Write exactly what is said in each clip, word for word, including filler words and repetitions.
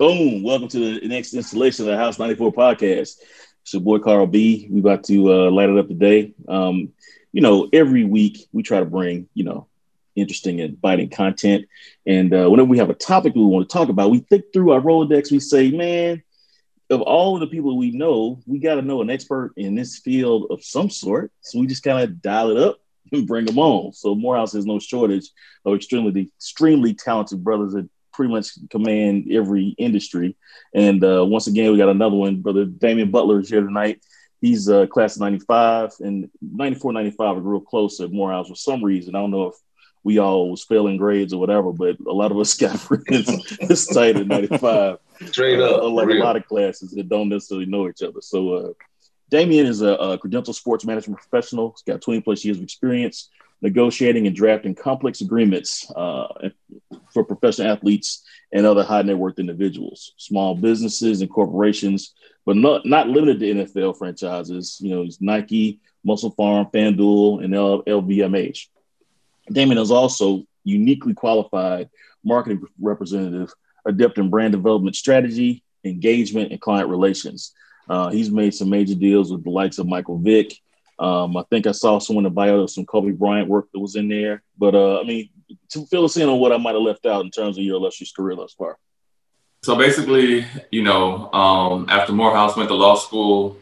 Boom. Welcome to the next installation of the House ninety-four podcast. It's your boy, Carl B. We about to uh, light it up today. Um, you know, every week we try to bring, you know, interesting and biting content. And uh, whenever we have a topic we want to talk about, we think through our Rolodex. We say, man, of all of the people we know, we got to know an expert in this field of some sort. So we just kind of dial it up and bring them on. So Morehouse has no shortage of extremely, extremely talented brothers that pretty much command every industry. And uh, once again, we got another one. Brother Damian Butler is here tonight. He's uh, class of ninety-five, and ninety-four, ninety-five are real close at Morehouse for some reason. I don't know if we all was failing grades or whatever, but a lot of us got friends this tight at ninety-five. Straight up. Uh, like a lot of classes that don't necessarily know each other. So uh, Damian is a, a credentialed sports management professional. He's got twenty plus years of experience negotiating and drafting complex agreements uh, for professional athletes and other high net worth individuals, small businesses and corporations, but not, not limited to N F L franchises. You know, it's Nike, Muscle Farm, FanDuel, and L V M H. Damian is also uniquely qualified marketing representative, adept in brand development strategy, engagement, and client relations. Uh, he's made some major deals with the likes of Michael Vick. Um, I think I saw someone in the bio of some Kobe Bryant work that was in there. But, uh, I mean, to fill us in on what I might have left out in terms of your illustrious career thus far. So basically, you know, um, after Morehouse, went to law school.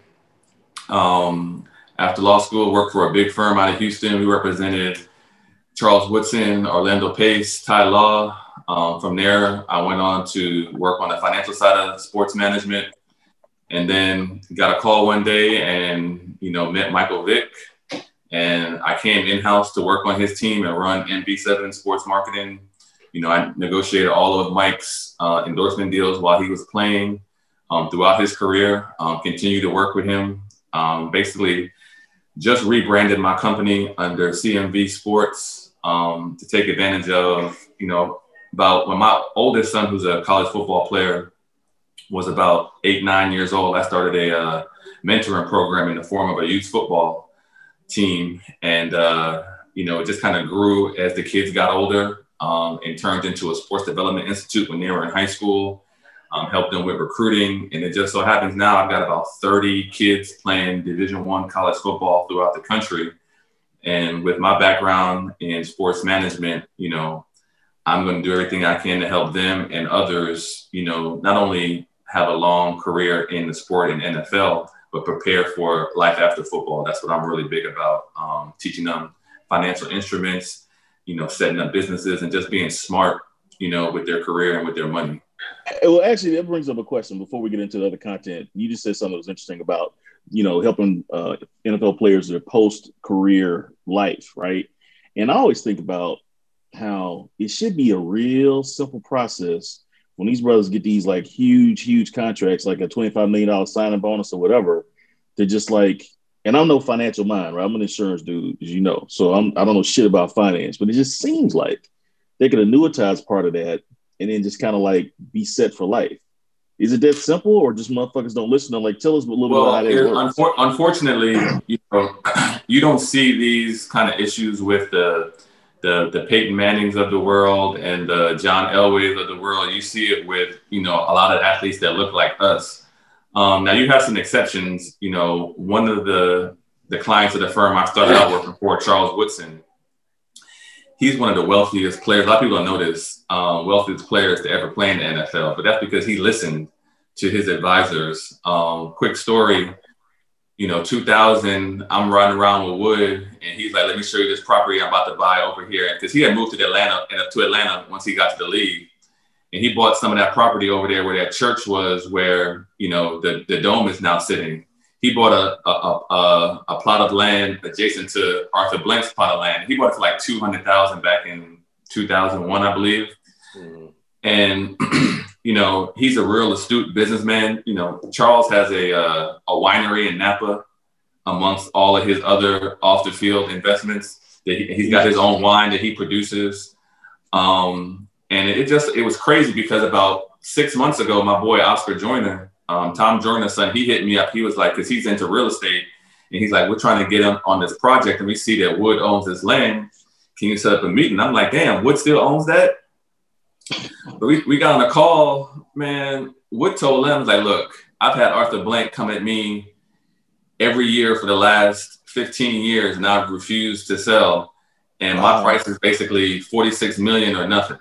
Um, after law school, worked for a big firm out of Houston. We represented Charles Woodson, Orlando Pace, Ty Law. Um, from there, I went on to work on the financial side of sports management. And then got a call one day and, you know, met Michael Vick. And I came in-house to work on his team and run N B seven sports marketing. You know, I negotiated all of Mike's uh, endorsement deals while he was playing um, throughout his career, um, continued to work with him. Um, basically, just rebranded my company under C M V Sports um, to take advantage of, you know, about when my oldest son, who's a college football player, was about eight, nine years old, I started a uh, mentoring program in the form of a youth football team. And, uh, you know, it just kind of grew as the kids got older um, and turned into a sports development institute when they were in high school, um, helped them with recruiting. And it just so happens now I've got about thirty kids playing Division One college football throughout the country. And with my background in sports management, you know, I'm going to do everything I can to help them and others, you know, not only have a long career in the sport in N F L, but prepare for life after football. That's what I'm really big about, um, teaching them financial instruments, you know, setting up businesses and just being smart, you know, with their career and with their money. Well, actually, that brings up a question before we get into the other content. You just said something that was interesting about, you know, helping uh, N F L players their post-career life, right? And I always think about how it should be a real simple process when these brothers get these like huge, huge contracts, like a twenty-five million dollars signing bonus or whatever, they're just like, and I'm no financial mind, right? I'm an insurance dude, as you know. So I'm, I don't know shit about finance, but it just seems like they could annuitize part of that and then just kind of like be set for life. Is it that simple or just motherfuckers don't listen? I'm like, tell us a little well, bit about how that works. Unfor- unfortunately, you know, you don't see these kind of issues with the the the Peyton Mannings of the world and the John Elways of the world. You see it with, you know, a lot of athletes that look like us. Um, now you have some exceptions. You know, one of the the clients of the firm I started out working for, Charles Woodson, he's one of the wealthiest players. A lot of people don't know this, uh, wealthiest players to ever play in the N F L, but that's because he listened to his advisors. Um, quick story. You know, two thousand, I'm running around with Wood, and he's like, let me show you this property I'm about to buy over here. Because he had moved to Atlanta, to Atlanta once he got to the league. And he bought some of that property over there where that church was, where, you know, the, the dome is now sitting. He bought a, a, a, a plot of land adjacent to Arthur Blank's plot of land. He bought it for like two hundred thousand dollars back in two thousand one, I believe. Mm-hmm. And you know, he's a real astute businessman. You know, Charles has a uh, a winery in Napa, amongst all of his other off the field investments. That he, he's got his own wine that he produces, um, and it, it just it was crazy because about six months ago, my boy Oscar Joyner, um, Tom Joyner's son, he hit me up. He was like, because he's into real estate, and he's like, we're trying to get him on this project, and we see that Wood owns this land. Can you set up a meeting? I'm like, damn, Wood still owns that? But we, we got on a call, man. Wood told them, like, look, I've had Arthur Blank come at me every year for the last fifteen years, and I've refused to sell. And wow. my price is basically forty-six million or nothing.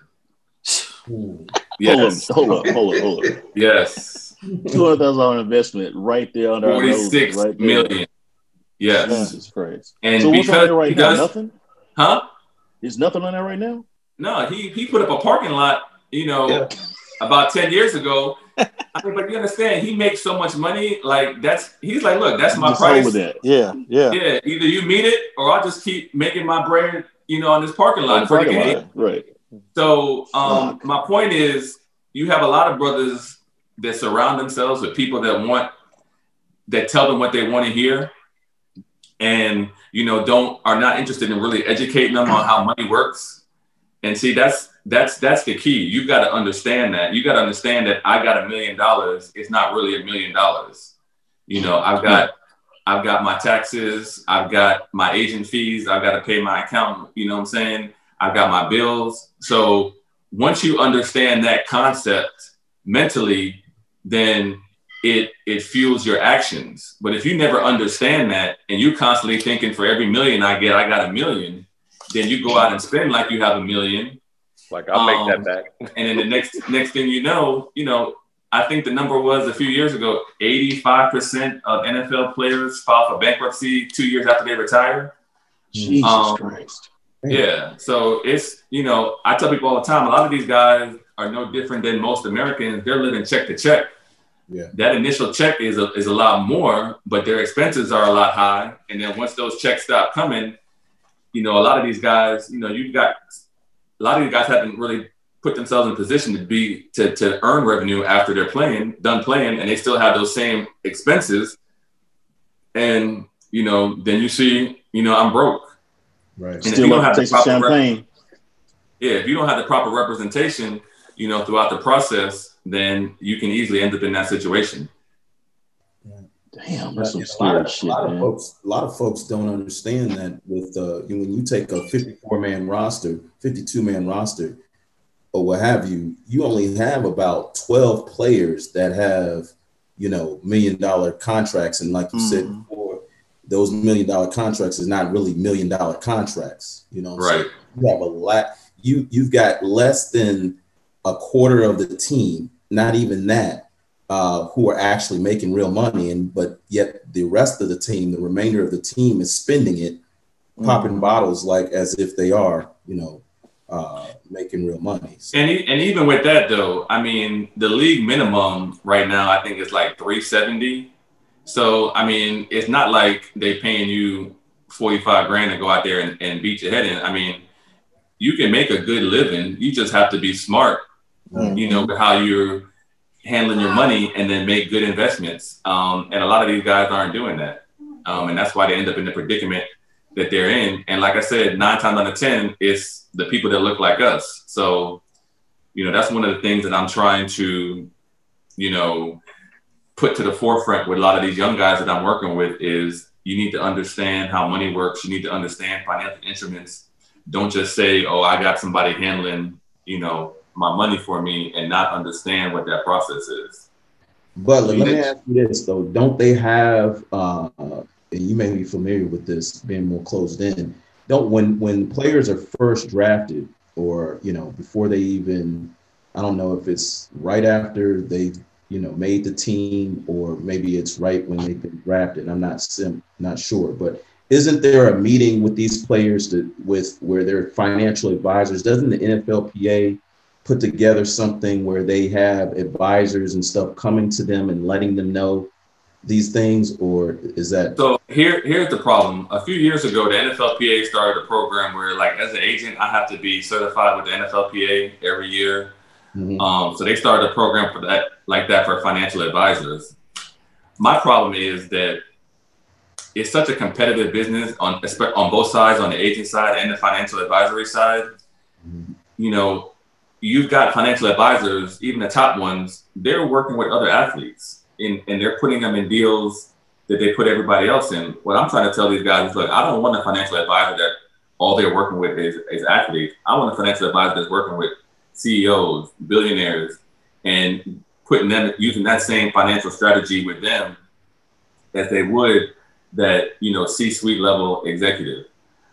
Yes. Hold up, hold up, hold up, hold up. Yes. two hundred thousand dollars investment right there under forty-six our nose, right million. Yes. Jesus Christ. And so what's on there right now? does, nothing? Huh? There's nothing on there right now? No, he he put up a parking lot, you know, yeah. about ten years ago. I mean, but you understand, he makes so much money. Like that's he's like, look, that's my just price. Over that. Yeah, yeah, yeah. Either you meet it, or I'll just keep making my bread, you know, on this parking lot. On the parking lot. Right. So, um, my point is, you have a lot of brothers that surround themselves with people that want, that tell them what they want to hear, and you know, don't are not interested in really educating them on how money works. And see, that's. That's that's the key. You got to understand that. You got to understand that I got a million dollars. It's not really a million dollars. You know, I've got I've got my taxes. I've got my agent fees. I've got to pay my accountant. You know what I'm saying? I've got my bills. So once you understand that concept mentally, then it it fuels your actions. But if you never understand that and you're constantly thinking for every million I get, I got a million, then you go out and spend like you have a million. Like I'll make um, that back. And then the next next thing you know, you know, I think the number was a few years ago, eighty-five percent of N F L players file for bankruptcy two years after they retire. Jesus um, Christ. Yeah. So it's, you know, I tell people all the time, a lot of these guys are no different than most Americans. They're living check to check. Yeah. That initial check is a, is a lot more, but their expenses are a lot high. And then once those checks stop coming, you know, a lot of these guys, you know, you've got a lot of these guys haven't really put themselves in a position to be to, to earn revenue after they're playing, done playing, and they still have those same expenses. And you know, then you see, you know, I'm broke. Right. And still if you don't have the proper champagne. Rep- yeah, if you don't have the proper representation, you know, throughout the process, then you can easily end up in that situation. Damn, that's some a scary lot of, shit, a lot man. Of folks, a lot of folks don't understand that with uh, you know, when you take a fifty-four man roster, fifty-two man roster, or what have you, you only have about twelve players that have, you know, million dollar contracts. And like you mm. said before, those million dollar contracts is not really million dollar contracts. You know, right? So you have a lot. You you've got less than a quarter of the team, not even that. Uh, who are actually making real money, and but yet the rest of the team, the remainder of the team, is spending it, mm-hmm. popping bottles like as if they are, you know, uh, making real money. So. And and even with that though, I mean, the league minimum right now I think is like three seventy. So I mean, it's not like they paying you forty-five grand to go out there and, and beat your head in. I mean, you can make a good living. You just have to be smart, mm-hmm. you know, with how you're handling your money and then make good investments. Um, and a lot of these guys aren't doing that. Um, and that's why they end up in the predicament that they're in. And like I said, nine times out of ten, it's the people that look like us. So, you know, that's one of the things that I'm trying to, you know, put to the forefront with a lot of these young guys that I'm working with is you need to understand how money works. You need to understand financial instruments. Don't just say, oh, I got somebody handling, you know, my money for me and not understand what that process is. But let me ask you this though, don't they have, uh, and you may be familiar with this being more closed in, don't, when, when players are first drafted or, you know, before they even, I don't know if it's right after they, you know, made the team or maybe it's right when they've been drafted. I'm not sim, not sure, but isn't there a meeting with these players to, with where they're financial advisors? Doesn't the N F L P A put together something where they have advisors and stuff coming to them and letting them know these things, or is that? So here, here's the problem. A few years ago, the N F L P A started a program where, like, as an agent, I have to be certified with the N F L P A every year. Mm-hmm. Um, so they started a program for that, like that, for financial advisors. My problem is that it's such a competitive business on on both sides, on the agent side and the financial advisory side. Mm-hmm. You know. You've got financial advisors, even the top ones, they're working with other athletes in, and they're putting them in deals that they put everybody else in. What I'm trying to tell these guys is, look, I don't want a financial advisor that all they're working with is, is athletes. I want a financial advisor that's working with C E Os, billionaires, and putting them using that same financial strategy with them as they would that, you know, C-suite level executive.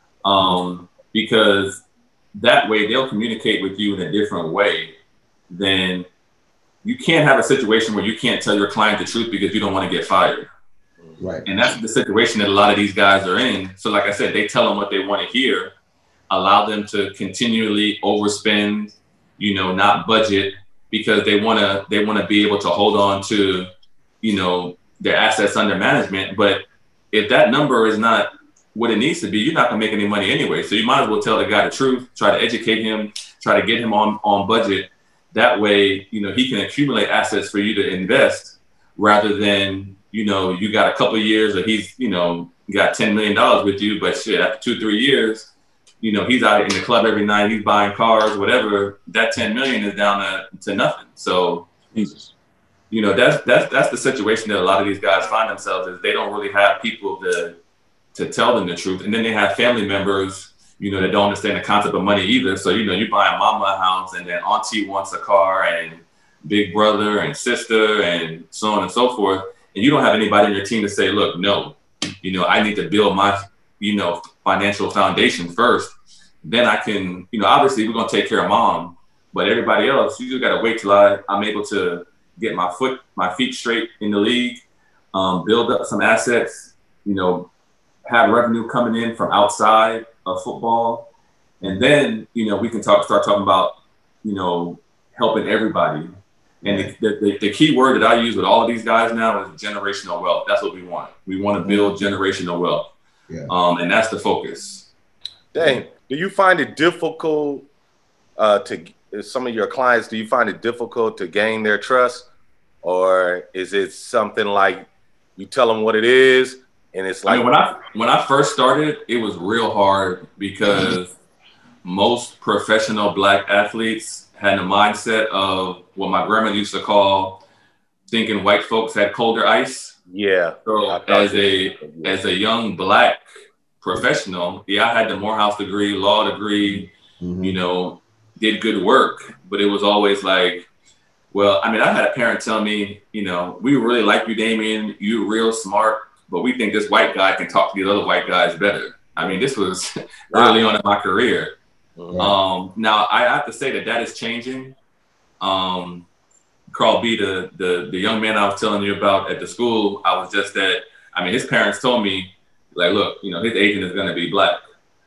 Um, because that way they'll communicate with you in a different way than you can't have a situation where you can't tell your client the truth because you don't want to get fired. Right. And that's the situation that a lot of these guys are in. So like I said, they tell them what they want to hear, allow them to continually overspend, you know, not budget, because they want to they want to be able to hold on to, you know, their assets under management. But if that number is not what it needs to be, you're not gonna make any money anyway. So you might as well tell the guy the truth, try to educate him, try to get him on, on budget. That way, you know, he can accumulate assets for you to invest rather than, you know, you got a couple of years or he's, you know, got ten million dollars with you, but shit, after two, three years, you know, he's out in the club every night, he's buying cars, whatever, that ten million is down to, to nothing. So, Jesus. You know, that's, that's, that's the situation that a lot of these guys find themselves is they don't really have people to, to tell them the truth. And then they have family members, you know, that don't understand the concept of money either. So, you know, you buy a mama a house and then auntie wants a car and big brother and sister and so on and so forth. And you don't have anybody in your team to say, look, no, you know, I need to build my, you know, financial foundation first. Then I can, you know, obviously we're going to take care of mom, but everybody else, you just got to wait till I, I'm able to get my foot, my feet straight in the league, um, build up some assets, you know, have revenue coming in from outside of football. And then, you know, we can talk, start talking about, you know, helping everybody. And the, the, the key word that I use with all of these guys now is generational wealth. That's what we want. We want to build generational wealth. Yeah. Um, and that's the focus. Dang. Do you find it difficult uh, to some of your clients, do you find it difficult to gain their trust? Or is it something like you tell them what it is and it's like— I mean, when I, when I first started, it was real hard because most professional Black athletes had the mindset of what my grandma used to call thinking white folks had colder ice. Yeah. So as a, as a young Black professional, yeah, I had the Morehouse degree, law degree, mm-hmm. you know, did good work, but it was always like, well, I mean, I had a parent tell me, you know, we really like you, Damien, you're real smart, but we think this white guy can talk to these other white guys better. I mean, this was early on in my career. Mm-hmm. Um, now, I have to say that that is changing. Um, Carl B, the, the the young man I was telling you about at the school, I was just that, I mean, his parents told me, like, look, you know, his agent is going to be Black.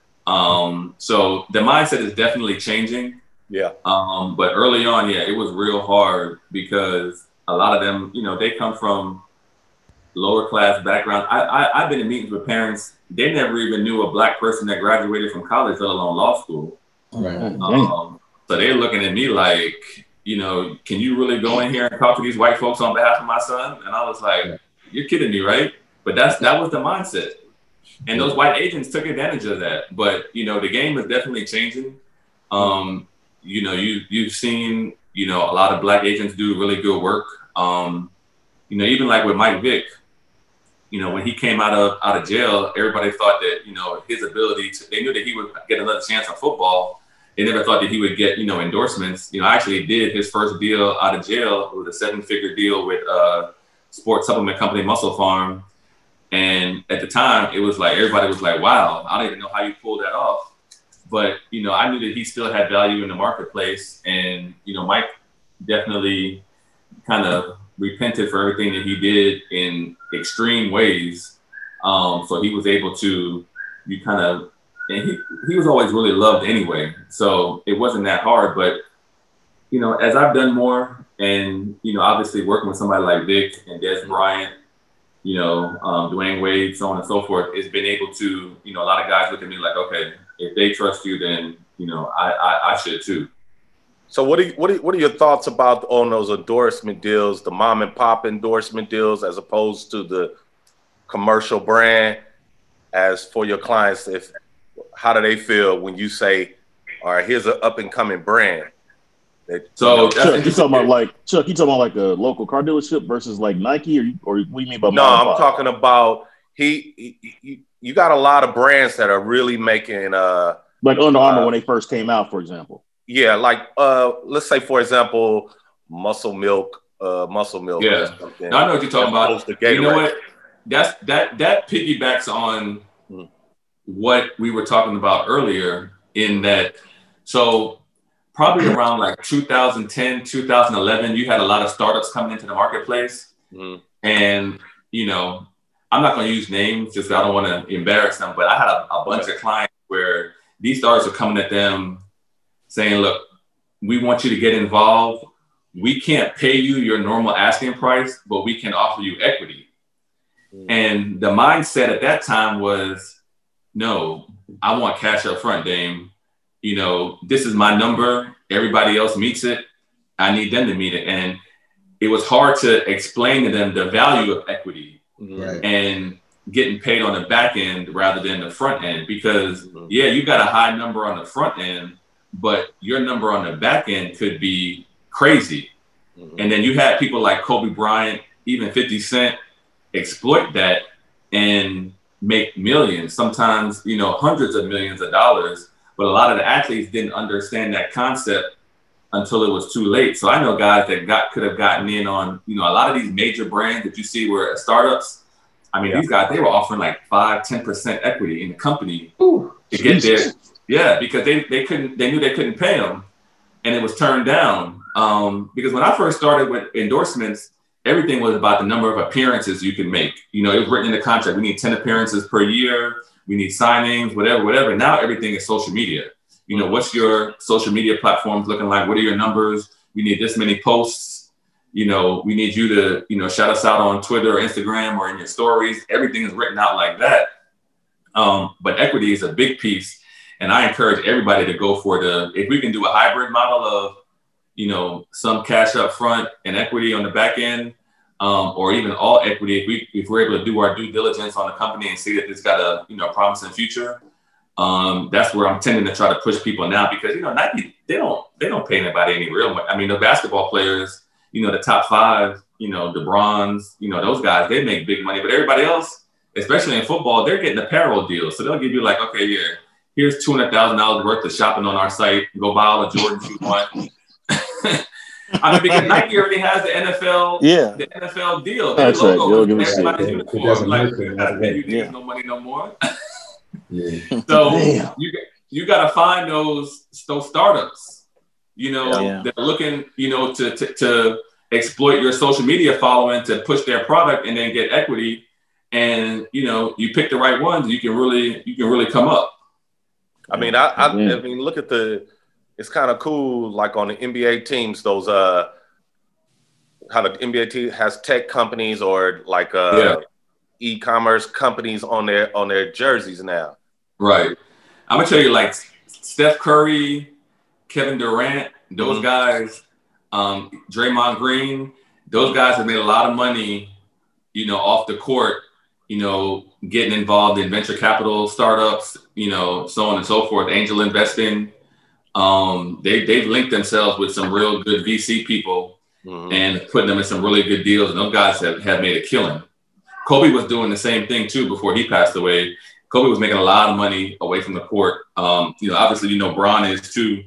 Um, so the mindset is definitely changing. Yeah. Um, but early on, yeah, it was real hard because a lot of them, you know, they come from lower class background. I, I, I've been in meetings with parents. They never even knew a Black person that graduated from college, let alone law school. Right. Um, so they're looking at me like, you know, can you really go in here and talk to these white folks on behalf of my son? And I was like, you're kidding me, right? But that's that was the mindset. And those white agents took advantage of that. But, you know, the game is definitely changing. Um, you know, you, you've seen, you know, a lot of Black agents do really good work. Um, you know, even like with Mike Vick, you know, when he came out of out of jail, everybody thought that, you know, his ability to, they knew that he would get another chance on football. They never thought that he would get, you know, endorsements. You know, I actually did his first deal out of jail. It was a seven figure deal with uh sports supplement company, Muscle Farm. And at the time, it was like, everybody was like, wow, I don't even know how you pulled that off. But, you know, I knew that he still had value in the marketplace. And, you know, Mike definitely kind of repented for everything that he did in extreme ways. Um, so he was able to, you kind of, and he, he was always really loved anyway. So it wasn't that hard. But, you know, as I've done more and, you know, obviously working with somebody like Vic and Des Bryant, you know, um, Dwayne Wade, so on and so forth, it's been able to, you know, a lot of guys look at me like, okay, if they trust you, then, you know, I, I, I should too. So what are, you, what, are, what are your thoughts about on those endorsement deals, the mom and pop endorsement deals, as opposed to the commercial brand? As for your clients, if how do they feel when you say, all right, here's an up and coming brand? That, so you know, Chuck, you talking about like Chuck, you talking about like a local car dealership versus like Nike, or or what do you mean by no? I'm talking about he, he, he. You got a lot of brands that are really making uh like Under Armour uh, when they first came out, for example. Yeah, like uh, let's say for example, Muscle Milk, uh, Muscle Milk. Yeah, no, I know what you're talking about. You know what? That's that that piggybacks on mm. what we were talking about earlier. In that, so probably around like two thousand ten, two thousand eleven, you had a lot of startups coming into the marketplace, mm. and you know, I'm not going to use names just because I don't want to embarrass them, but I had a, a bunch of clients where these startups are coming at them saying, look, we want you to get involved. We can't pay you your normal asking price, but we can offer you equity. Mm. And the mindset at that time was, no, I want cash up front, Dame. You know, this is my number. Everybody else meets it. I need them to meet it. And it was hard to explain to them the value of equity right. and getting paid on the back end rather than the front end. Because, mm-hmm. yeah, you got a high number on the front end, but your number on the back end could be crazy. Mm-hmm. And then you had people like Kobe Bryant, even fifty Cent, exploit that and make millions, sometimes, you know, hundreds of millions of dollars. But a lot of the athletes didn't understand that concept until it was too late. So I know guys that got could have gotten in on, you know, a lot of these major brands that you see were startups. I mean, yeah. these guys, they were offering like five, ten percent equity in the company Ooh, to Jesus. get there. Yeah, because they, they couldn't, they knew they couldn't pay them, and it was turned down. Um, because when I first started with endorsements, everything was about the number of appearances you can make. You know, it was written in the contract. We need ten appearances per year. We need signings, whatever, whatever. Now everything is social media. You know, what's your social media platforms looking like? What are your numbers? We need this many posts. You know, we need you to, you know, shout us out on Twitter or Instagram or in your stories. Everything is written out like that. Um, but equity is a big piece. And I encourage everybody to go for the, if we can do a hybrid model of, you know, some cash up front and equity on the back end, um, or even all equity, if we if we're able to do our due diligence on the company and see that it's got a, you know, promising future, um, that's where I'm tending to try to push people now, because, you know, Nike, they don't they don't pay anybody any real money. I mean, the basketball players, you know, the top five, you know, DeBrons, you know, those guys, they make big money, but everybody else, especially in football, they're getting a payroll deal. So they'll give you like, okay, yeah, here's two hundred thousand dollars worth of shopping on our site. Go buy all the Jordans you want. I mean, because Nike already has the N F L, yeah. the N F L deal. That's right. They'll give us uniform. Like, you gotta pay you niggas no money no more. yeah. So Damn. you you gotta find those those startups, you know, yeah. that are looking, you know, to, to to exploit your social media following to push their product and then get equity. And you know, you pick the right ones, you can really you can really come up. I mean, I I, yeah. I mean, look at the. It's kind of cool, like on the N B A teams, those uh, how the N B A team has tech companies or like uh, yeah. e-commerce companies on their on their jerseys now. Right. I'm gonna tell you, like Steph Curry, Kevin Durant, those mm-hmm. guys, um, Draymond Green, those guys have made a lot of money, you know, off the court, you know, getting involved in venture capital startups, you know, so on and so forth, angel investing. Um, they, they've linked themselves with some real good V C people mm-hmm. and putting them in some really good deals. And those guys have, have made a killing. Kobe was doing the same thing too before he passed away. Kobe was making a lot of money away from the court. Um, you know, obviously, you know, Bron is too.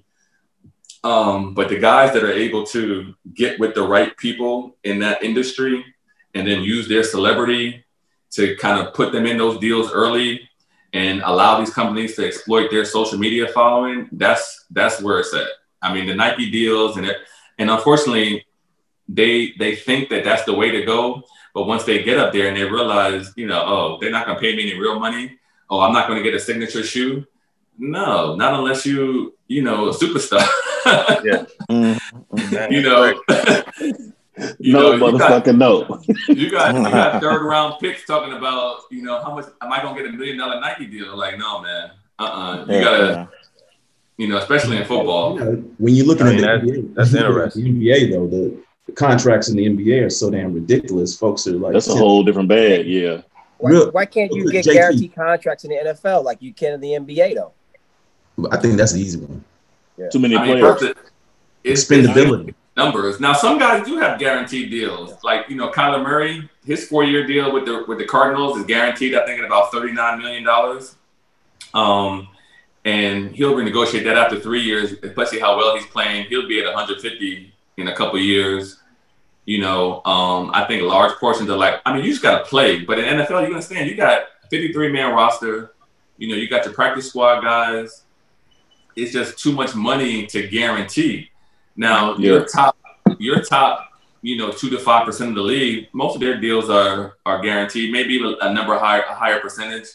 Um, but the guys that are able to get with the right people in that industry and then use their celebrity to kind of put them in those deals early and allow these companies to exploit their social media following, that's that's where it's at. I mean, the Nike deals, and it, and unfortunately, they they think that that's the way to go. But once they get up there and they realize, you know, oh, they're not going to pay me any real money. Oh, I'm not going to get a signature shoe. No, not unless you, you know, a superstar. yeah. Mm-hmm. You know. You no, know, motherfucker, got, no. You got you got third round picks talking about, you know, how much am I gonna get a million dollar Nike deal? Like, no, man. Uh uh-uh. uh. You yeah, gotta, yeah. you know, especially in football. You know, when you're looking I mean, at the that, N B A, that's interesting. The N B A though, the, the contracts in the N B A are so damn ridiculous. Folks are like, that's a whole different bag. Yeah. Why, Real, why can't you get J T guaranteed contracts in the N F L like you can in the N B A though? I think that's the easy one. Yeah. Too many I mean, players. It, it's, Expendability. It's, numbers. Now, some guys do have guaranteed deals. Like, you know, Kyler Murray, his four-year deal with the with the Cardinals is guaranteed, I think, at about thirty-nine million dollars. Um, and he'll renegotiate that after three years, especially how well he's playing. He'll be at one hundred fifty in a couple of years. You know, um, I think large portions are like, I mean, you just got to play. But in N F L, you understand, you got fifty-three man roster. You know, you got your practice squad guys. It's just too much money to guarantee. Now, yeah. your top, your top, you know, two to five percent of the league, most of their deals are are guaranteed, maybe a number higher, a higher percentage.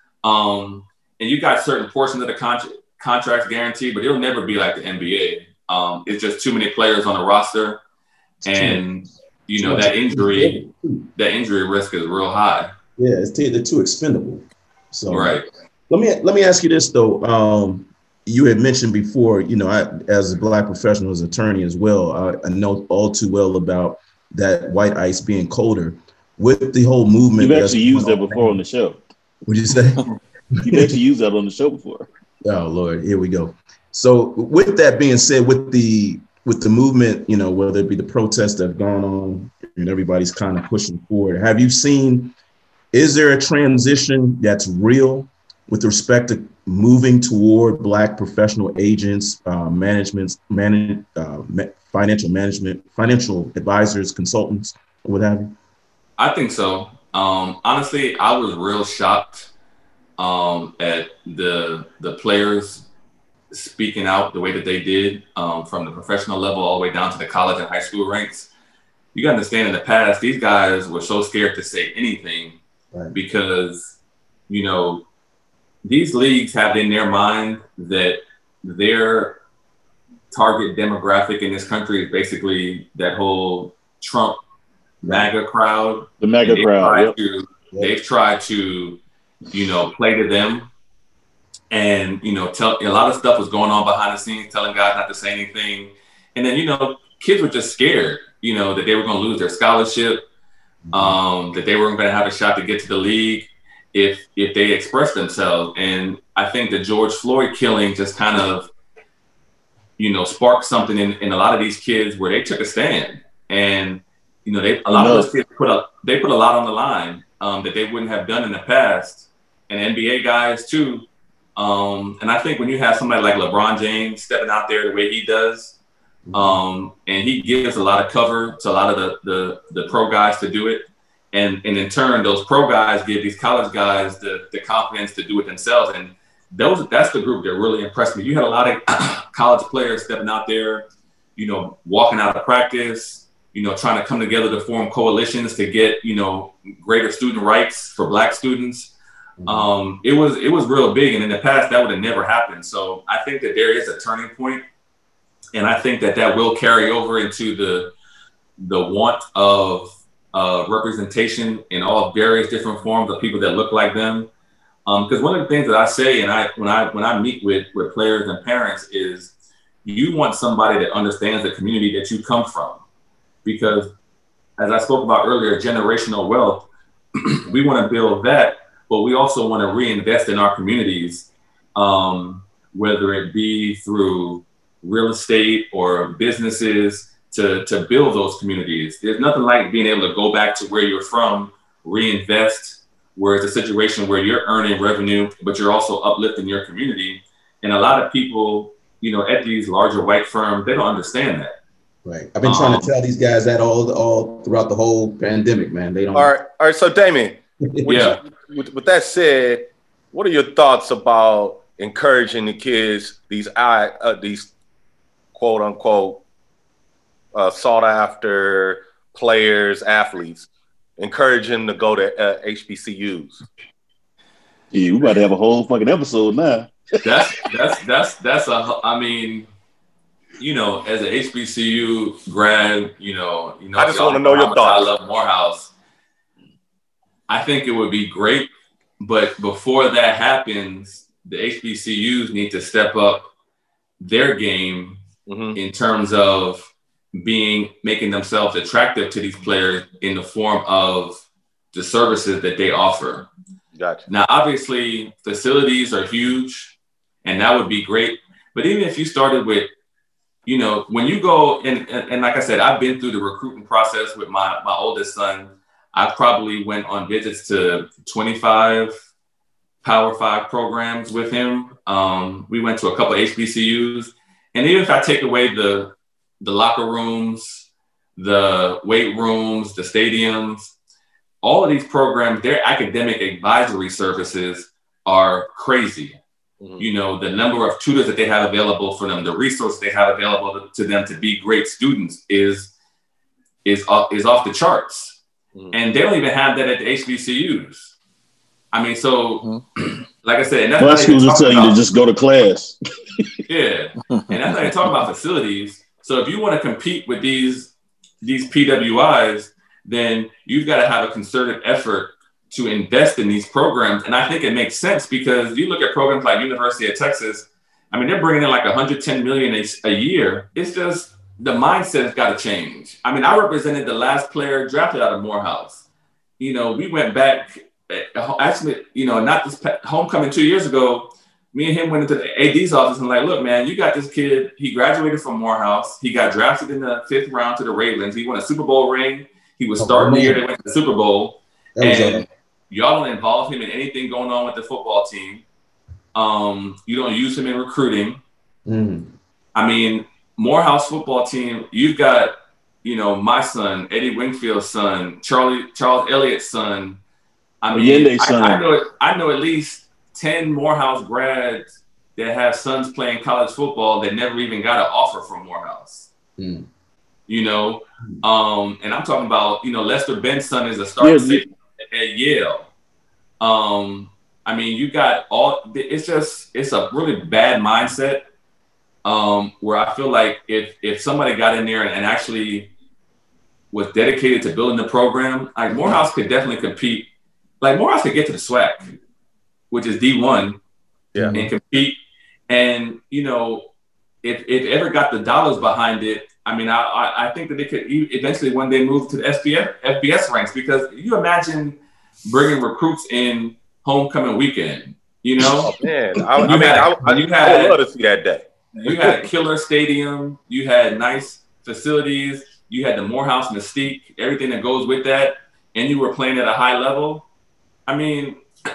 Um, and you got certain portions of the contract contracts guaranteed, but it'll never be like the N B A. Um, it's just too many players on the roster, and you know that injury, that injury risk is real high. Yeah, it's t- they're too expendable. So right. Let me let me ask you this though. Um, you had mentioned before, you know, I, as a Black professional, as an attorney as well, I, I know all too well about that white ice being colder. With the whole movement, you've actually used that before on the show. What'd you say? You've actually used that on the show before. Oh Lord, here we go. So with that being said, with the with the movement, you know, whether it be the protests that have gone on and everybody's kind of pushing forward, have you seen? Is there a transition that's real with respect to moving toward Black professional agents, uh, managements, manage, uh, ma- financial management, financial advisors, consultants, or what have you? I think so. Um, honestly, I was real shocked um, at the the players speaking out the way that they did, um, from the professional level all the way down to the college and high school ranks. You got to understand, in the past, these guys were so scared to say anything. Right. Because, you know, these leagues have in their mind that their target demographic in this country is basically that whole Trump MAGA crowd. The MAGA crowd, yep. To, yep. They've tried to, you know, play to them. And, you know, tell a lot of stuff was going on behind the scenes, telling guys not to say anything. And then, you know, kids were just scared, you know, that they were going to lose their scholarship. Um, that they weren't going to have a shot to get to the league if if they expressed themselves. And I think the George Floyd killing just kind of, you know, sparked something in, in a lot of these kids where they took a stand. And, you know, they a lot of those kids put a, they put a lot on the line um, that they wouldn't have done in the past. And N B A guys, too. Um, and I think when you have somebody like LeBron James stepping out there the way he does, Um, and he gives a lot of cover to a lot of the, the, the pro guys to do it. And, and in turn, those pro guys give these college guys the, the confidence to do it themselves. And those that's the group that really impressed me. You had a lot of college players stepping out there, you know, walking out of practice, you know, trying to come together to form coalitions to get, you know, greater student rights for Black students. Mm-hmm. Um, it was it was real big. And in the past, that would have never happened. So I think that there is a turning point. And I think that that will carry over into the the want of uh, representation in all various different forms of people that look like them. Because um, one of the things that I say, and I when I when I meet with with players and parents, is you want somebody that understands the community that you come from. Because as I spoke about earlier, generational wealth, we want to build that, but we also want to reinvest in our communities, um, whether it be through real estate or businesses to, to build those communities. There's nothing like being able to go back to where you're from, reinvest, where it's a situation where you're earning revenue, but you're also uplifting your community. And a lot of people, you know, at these larger white firms, they don't understand that. Right. I've been trying um, to tell these guys that all all throughout the whole pandemic, man. They don't. All right. All right. So, Damien, yeah. You, with, with that said, what are your thoughts about encouraging the kids, these uh, these quote unquote uh, sought after players, athletes, encourage them to go to uh, H B C Us? Yeah, we about to have a whole fucking episode now. that's that's that's that's a. I mean, you know, as an H B C U grad, you know, you know, I just want to know your thoughts. I love Morehouse. I think it would be great, but before that happens, the H B C Us need to step up their game mm-hmm. in terms of being making themselves attractive to these players in the form of the services that they offer. Gotcha. Now, obviously, facilities are huge, and that would be great. But even if you started with, you know, when you go, and, and, and like I said, I've been through the recruiting process with my, my oldest son. I probably went on visits to twenty-five Power Five programs with him. Um, we went to a couple of H B C Us, and even if I take away the the locker rooms, the weight rooms, the stadiums, all of these programs, their academic advisory services are crazy. Mm-hmm. You know, the number of tutors that they have available for them, the resources they have available to them to be great students is is off, is off the charts. Mm-hmm. And they don't even have that at the H B C Us. I mean, so mm-hmm. like I said, and that's well, schools will tell you to just go to class. Yeah, and that's how they talk about facilities. So if you want to compete with these these P W Is, then you've got to have a concerted effort to invest in these programs. And I think it makes sense because you look at programs like University of Texas, I mean, they're bringing in like one hundred ten million dollars a, a year. It's just the mindset has got to change. I mean, I represented the last player drafted out of Morehouse. You know, we went back, actually, you know, not this homecoming two years ago, me and him went into the A D's office and like, look, man, you got this kid. He graduated from Morehouse. He got drafted in the fifth round to the Ravens. He won a Super Bowl ring. He was starting oh, the year they went to the Super Bowl. And y'all don't involve him in anything going on with the football team. Um, you don't use him in recruiting. Mm. I mean, Morehouse football team, you've got, you know, my son, Eddie Wingfield's son, Charlie Charles Elliott's son. I mean, I, son. I know I know at least ten Morehouse grads that have sons playing college football that never even got an offer from Morehouse. Mm. You know, um, and I'm talking about, you know, Lester Ben's son is a starting safety at Yale. Um, I mean, you got all, it's just, it's a really bad mindset um, where I feel like if if somebody got in there and, and actually was dedicated to building the program, like Morehouse could definitely compete. Like Morehouse could get to the SWAC, which is D one, yeah, and compete. And, you know, if if ever got the dollars behind it, I mean, I, I, I think that they could eventually one day move to the F B S, F B S ranks, because you imagine bringing recruits in homecoming weekend, you know? Oh, man, I, I mean, had, I, I, you had, I would love to see that day. You had a killer stadium. You had nice facilities. You had the Morehouse mystique, everything that goes with that, and you were playing at a high level. I mean,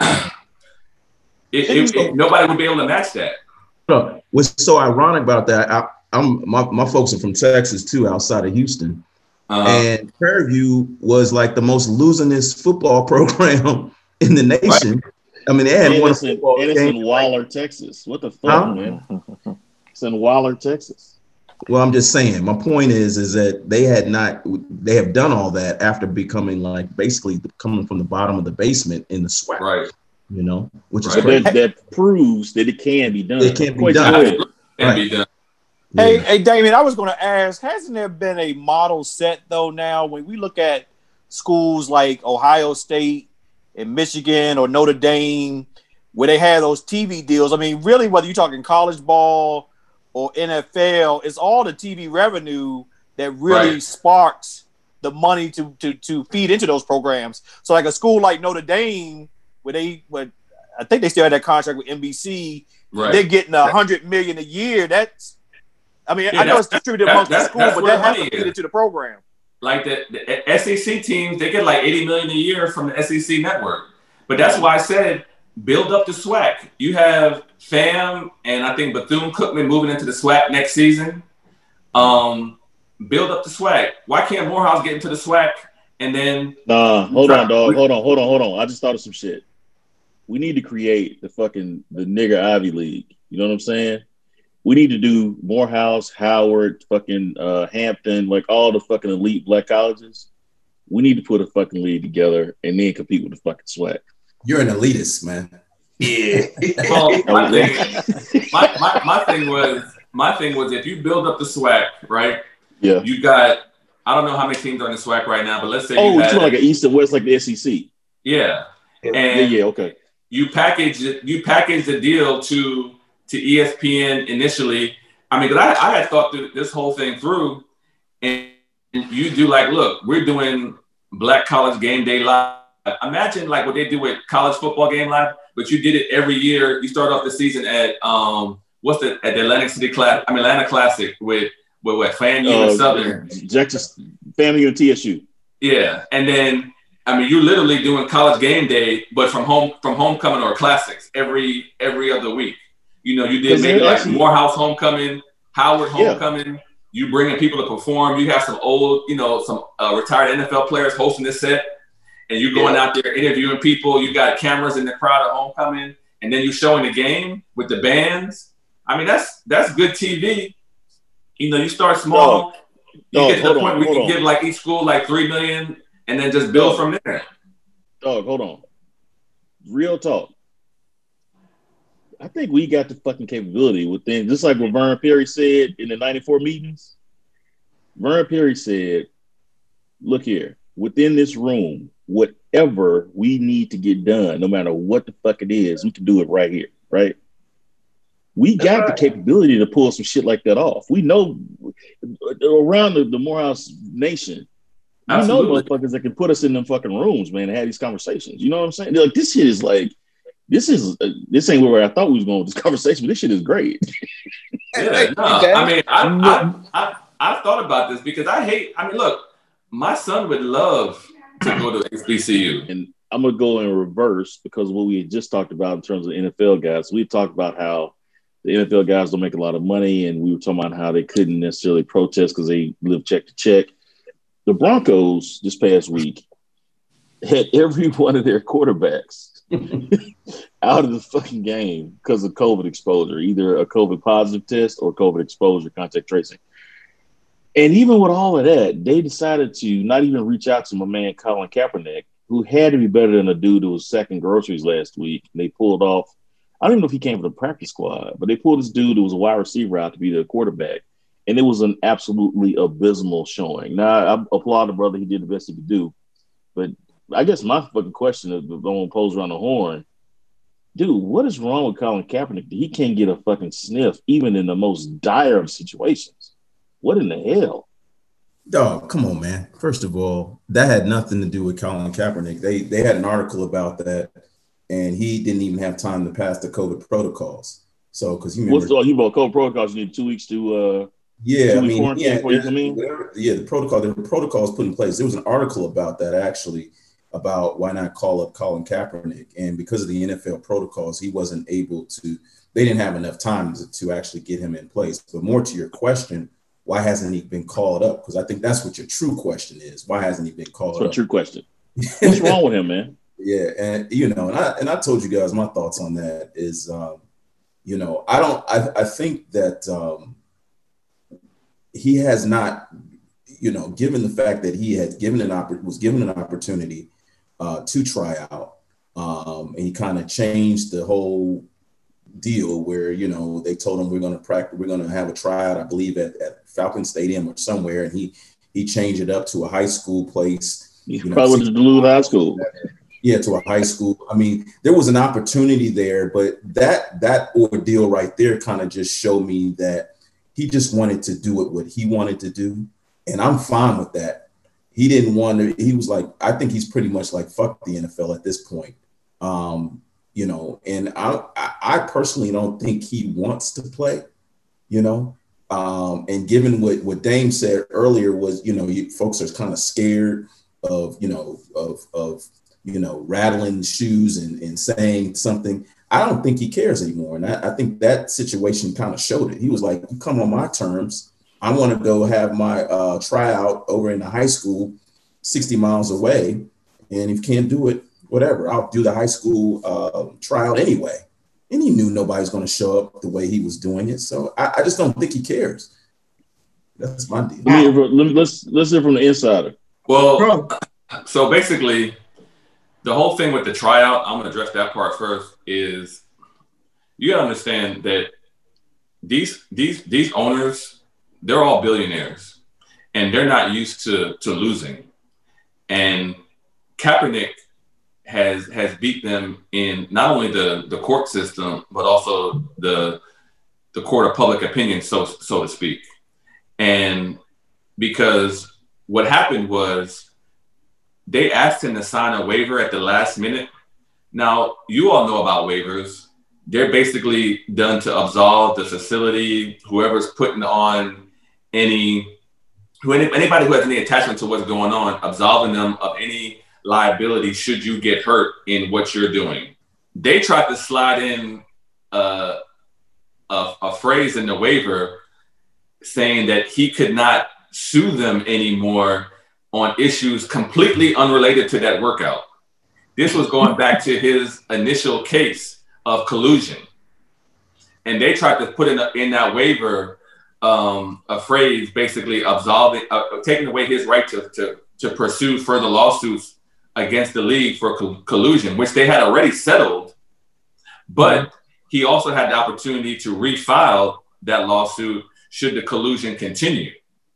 it, it, it, nobody would be able to match that. What's so ironic about that, I, I'm my, my folks are from Texas too, outside of Houston. Uh-huh. And Prairie View was like the most losingest football program in the nation. Right. I mean, they had and one it's in, and it's in Waller, Texas. What the fuck, huh? man? It's in Waller, Texas. Well, I'm just saying, my point is, is that they had not, they have done all that after becoming like basically coming from the bottom of the basement in the SWAC. Right. You know, which right. is that, that proves that it can be done. It can be done. It can right. be done. Hey, yeah. hey, Damien, I was going to ask, hasn't there been a model set, though, now, when we look at schools like Ohio State and Michigan or Notre Dame, where they have those T V deals? I mean, really, whether you're talking college ball or N F L, it's all the T V revenue that really right. sparks the money to, to to feed into those programs. So like a school like Notre Dame, where they, where I think they still had that contract with N B C, right. they're getting a hundred million a year. That's, I mean, yeah, I know it's distributed amongst the school, but that has to feed into the program. Like the, the S E C teams, they get like eighty million a year from the S E C network. But that's why I said build up the SWAC. You have Fam and I think Bethune-Cookman moving into the SWAC next season. Um, build up the SWAC. Why can't Morehouse get into the SWAC and then? Nah, hold on, dog. Hold on, hold on, hold on. I just thought of some shit. We need to create the fucking the nigger Ivy League. You know what I'm saying? We need to do Morehouse, Howard, fucking uh, Hampton, like all the fucking elite black colleges. We need to put a fucking league together and then compete with the fucking SWAC. You're an elitist, man. Yeah. Well, my, thing, my, my, my thing was my thing was if you build up the SWAC, right? Yeah. You got I don't know how many teams are in the SWAC right now, but let's say oh, you it's had, like an East and West, like the S E C. Yeah. And yeah, yeah, okay. You package you package the deal to to E S P N initially. I mean, because I, I had thought through this whole thing through, and you do like, look, we're doing Black College Game Day Live. Imagine like what they do with College Football Game Live, but you did it every year. You start off the season at um, what's the at the Atlantic City Class? I mean, Atlanta Classic with with what FAMU uh, and Southern, Texas FAMU and T S U. Yeah, and then I mean, you're literally doing college game day, but from home from homecoming or classics every every other week. You know, you did maybe like actually, Morehouse homecoming, Howard homecoming. Yeah. You bringing people to perform. You have some old, you know, some uh, retired N F L players hosting this set, and you're going yeah. out there interviewing people. You got cameras in the crowd at homecoming, and then you're showing the game with the bands. I mean, that's that's good T V. You know, you start small. Dog, you dog, get to the point on, where we can on. give like each school like three million, and then just build dog, from there. Dog, hold on. Real talk. I think we got the fucking capability within, just like what Vern Perry said in the ninety-four meetings. Vern Perry said, look here, within this room, whatever we need to get done, no matter what the fuck it is, we can do it right here, right? We got right. the capability to pull some shit like that off. We know around the, the Morehouse Nation, we Absolutely. know motherfuckers that can put us in them fucking rooms, man, and have these conversations. You know what I'm saying? They're like, this shit is like, This is uh, this ain't where I thought we was going with this conversation, but this shit is great. Yeah, no, I mean, I, I I I've thought about this because I hate. I mean, look, my son would love to go to H B C U, and I'm gonna go in reverse because what we had just talked about in terms of N F L guys. We talked about how the N F L guys don't make a lot of money, and we were talking about how they couldn't necessarily protest because they live check to check. The Broncos this past week had every one of their quarterbacks out of the fucking game because of COVID exposure, either a COVID positive test or COVID exposure contact tracing. And even with all of that, they decided to not even reach out to my man Colin Kaepernick, who had to be better than a dude who was sacking groceries last week. And they pulled off, I don't even know if he came from the practice squad, but they pulled this dude who was a wide receiver out to be the quarterback. And it was an absolutely abysmal showing. Now, I applaud the brother. He did the best he could do. But I guess my fucking question is going to pose around the horn. Dude, what is wrong with Colin Kaepernick? He can't get a fucking sniff, even in the most dire of situations. What in the hell? Dog, come on, man. First of all, that had nothing to do with Colin Kaepernick. They they had an article about that, and he didn't even have time to pass the COVID protocols. So, because he remember, what's all you about COVID protocols? You need two weeks to uh, yeah, I mean, yeah, before you come in? yeah, the protocol, the protocols put in place. There was an article about that actually. About why not call up Colin Kaepernick. And because of the N F L protocols, he wasn't able to, they didn't have enough time to, to actually get him in place. But more to your question, why hasn't he been called up? Because I think that's what your true question is. Why hasn't he been called that's up? That's your true question. What's wrong with him, man? Yeah. And, you know, and I, and I told you guys my thoughts on that is, um, you know, I don't, I, I think that um, he has not, you know, given the fact that he had given an oppor- was given an opportunity Uh, to try out. Um, and he kind of changed the whole deal where, you know, they told him we're going to practice, we're going to have a tryout, I believe, at, at Falcon Stadium or somewhere. And he he changed it up to a high school place. You know, probably to Duluth High School. Yeah, to a high school. I mean, there was an opportunity there, but that that ordeal right there kind of just showed me that he just wanted to do it what he wanted to do. And I'm fine with that. He didn't want to, he was like, I think he's pretty much like, fuck the N F L at this point. Um, you know, and I, I personally don't think he wants to play, you know, um, and given what, what Dame said earlier was, you know, you, folks are kind of scared of, you know, of, of, you know, rattling shoes and, and saying something. I don't think he cares anymore. And I, I think that situation kind of showed it. He was like, you come on my terms. I want to go have my uh, tryout over in the high school sixty miles away. And if you can't do it, whatever, I'll do the high school uh, tryout anyway. And he knew nobody's going to show up the way he was doing it. So I, I just don't think he cares. That's my deal. Let me, let's, let's hear from the insider. Well, so basically, the whole thing with the tryout, I'm going to address that part first, is you got to understand that these these these owners, they're all billionaires, and they're not used to, to losing. And Kaepernick has has beat them in not only the, the court system, but also the the court of public opinion, so so to speak. And because what happened was they asked him to sign a waiver at the last minute. Now, you all know about waivers. They're basically done to absolve the facility, whoever's putting on any, who anybody who has any attachment to what's going on, absolving them of any liability should you get hurt in what you're doing. They tried to slide in uh, a, a phrase in the waiver saying that he could not sue them anymore on issues completely unrelated to that workout. This was going back to his initial case of collusion. And they tried to put in, a, in that waiver um, a phrase basically absolving, uh, taking away his right to, to, to pursue further lawsuits against the league for co- collusion, which they had already settled. But he also had the opportunity to refile that lawsuit should the collusion continue.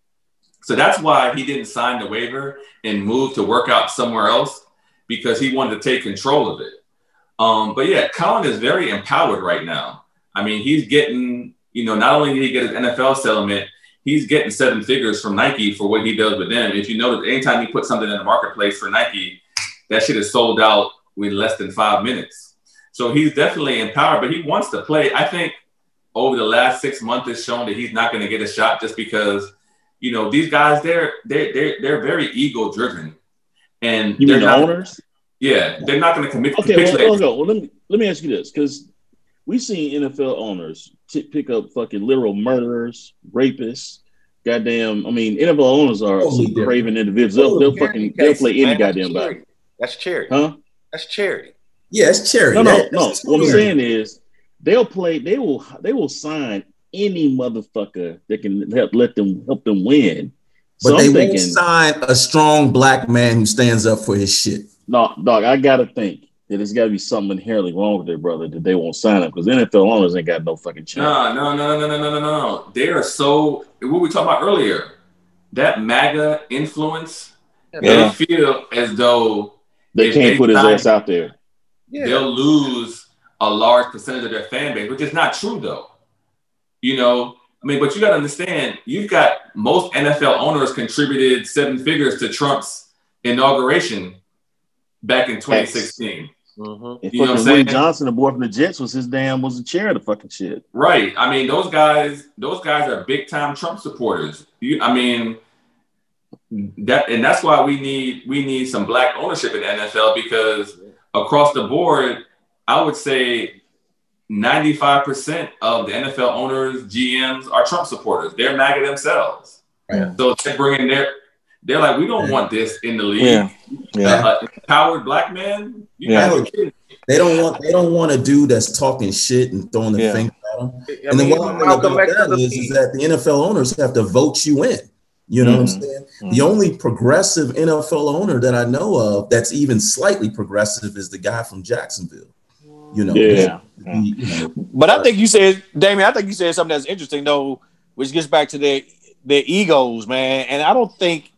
So that's why he didn't sign the waiver and move to work out somewhere else, because he wanted to take control of it. Um, but yeah, Colin is very empowered right now. I mean, he's getting, you know, not only did he get his N F L settlement, he's getting seven figures from Nike for what he does with them. If you notice, anytime he puts something in the marketplace for Nike, that shit is sold out in less than five minutes. So he's definitely empowered, but he wants to play. I think over the last six months has shown that he's not going to get a shot just because, you know, these guys, they're they're they're, they're very ego driven, and you they're mean the not, owners? Yeah, they're not going to commit. Okay, well, well, well, let me let me ask you this, because we've seen N F L owners t- pick up fucking literal murderers, rapists, goddamn. I mean, N F L owners are oh, some craven individuals. They'll, they'll fucking they'll play any man, goddamn body. That's charity. Huh? That's charity. Yeah, it's charity. No, no, That's no. charity. What I'm saying is, they'll play. They will. They will sign any motherfucker that can help let them help them win. But So they I'm won't thinking, sign a strong black man who stands up for his shit. no, dog. I gotta think that there's got to be something inherently wrong with their brother that they won't sign him, because N F L owners ain't got no fucking chance. No, no, no, no, no, no, no, no. They are so. What we talked about earlier, that MAGA influence. Yeah. They feel as though They if can't they put his sign- ass out there. Yeah. They'll lose a large percentage of their fan base, which is not true though. You know, I mean, but you got to understand, you've got most N F L owners contributed seven figures to Trump's inauguration back in twenty sixteen. Mm-hmm. You know what I'm saying? Woody Johnson, the boy from the Jets, was his damn was the chair of the fucking shit. Right. I mean, those guys, those guys are big time Trump supporters. You, I mean, that, and that's why we need we need some black ownership in the N F L, because across the board, I would say ninety-five percent of the N F L owners, G Ms are Trump supporters. They're MAGA themselves. Yeah. So they're bringing their, they're like, we don't yeah. want this in the league. Yeah. Yeah. Uh, empowered black man. You Yeah. gotta be kidding. They don't want they don't want a dude that's talking shit and throwing the Yeah. finger at them. I And mean, then what I'm going to about that is, is that the N F L owners have to vote you in. You know Mm-hmm. what I'm saying? Mm-hmm. The only progressive N F L owner that I know of that's even slightly progressive is the guy from Jacksonville. You know, Yeah. he, you know But I think you said, Damien, I think you said something that's interesting though, which gets back to their their egos, man. And I don't think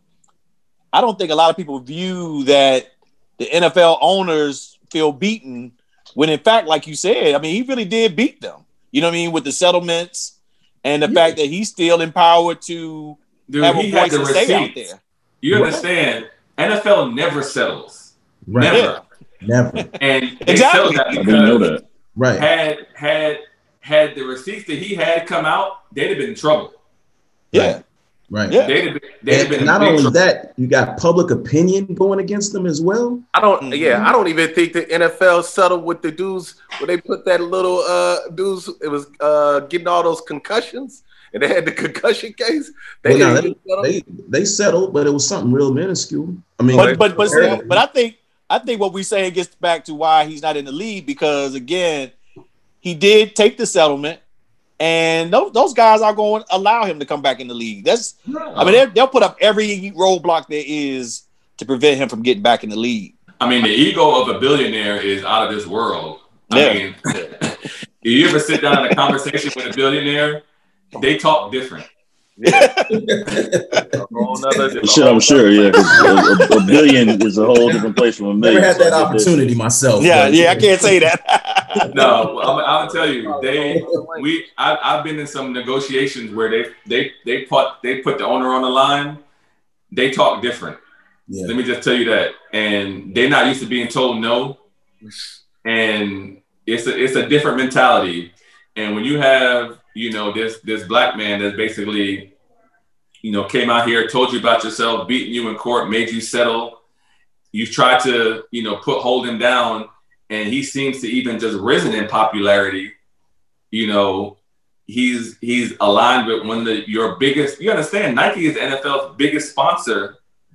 I don't think a lot of people view that the N F L owners feel beaten when, in fact, like you said, I mean, he really did beat them. You know what I mean? With the settlements and the Yeah. fact that he's still empowered to Dude, have a he had voice the and stay out receipts. there. You Right. understand? N F L never settles. right. Never. Never. And they Exactly. settled that I didn't know because that. Right. had had had the receipts that he had come out, they'd have been in trouble. Yeah. Right. Yeah. They'd have been, they'd have And been in not big only trouble. that, you got public opinion going against them as well. I don't. Mhm. Yeah, I don't even think the N F L settled with the dudes where they put that little uh dudes. It was uh getting all those concussions, and they had the concussion case. They Well, no, didn't they, settle. they they settled, but it was something real minuscule. I mean, But but but see, but I think I think what we saying gets back to why he's not in the league, because again, he did take the settlement, and those, those guys are going to allow him to come back in the league. That's I mean, they'll, they'll put up every roadblock there is to prevent him from getting back in the league. I mean, the ego of a billionaire is out of this world. I Yeah. mean, if you ever sit down in a conversation with a billionaire, they talk different. A whole nother- Shit, I'm sure, yeah. 'Cause a, a billion is a whole different place from a million. never had so I that get opportunity myself. Yeah, but- yeah, I can't say that. No, I'm, I'll tell you, they we I, I've been in some negotiations where they they they put they put the owner on the line. They talk different. Yeah. Let me just tell you that, and they're not used to being told no, and it's a it's a different mentality. And when you have, you know, this this black man that's basically, you know, came out here, told you about yourself, beating you in court, made you settle, you've tried to, you know, put hold him down, and he seems to even just risen in popularity. You know, he's he's aligned with one of the, your biggest. You understand, Nike is the N F L's biggest sponsor,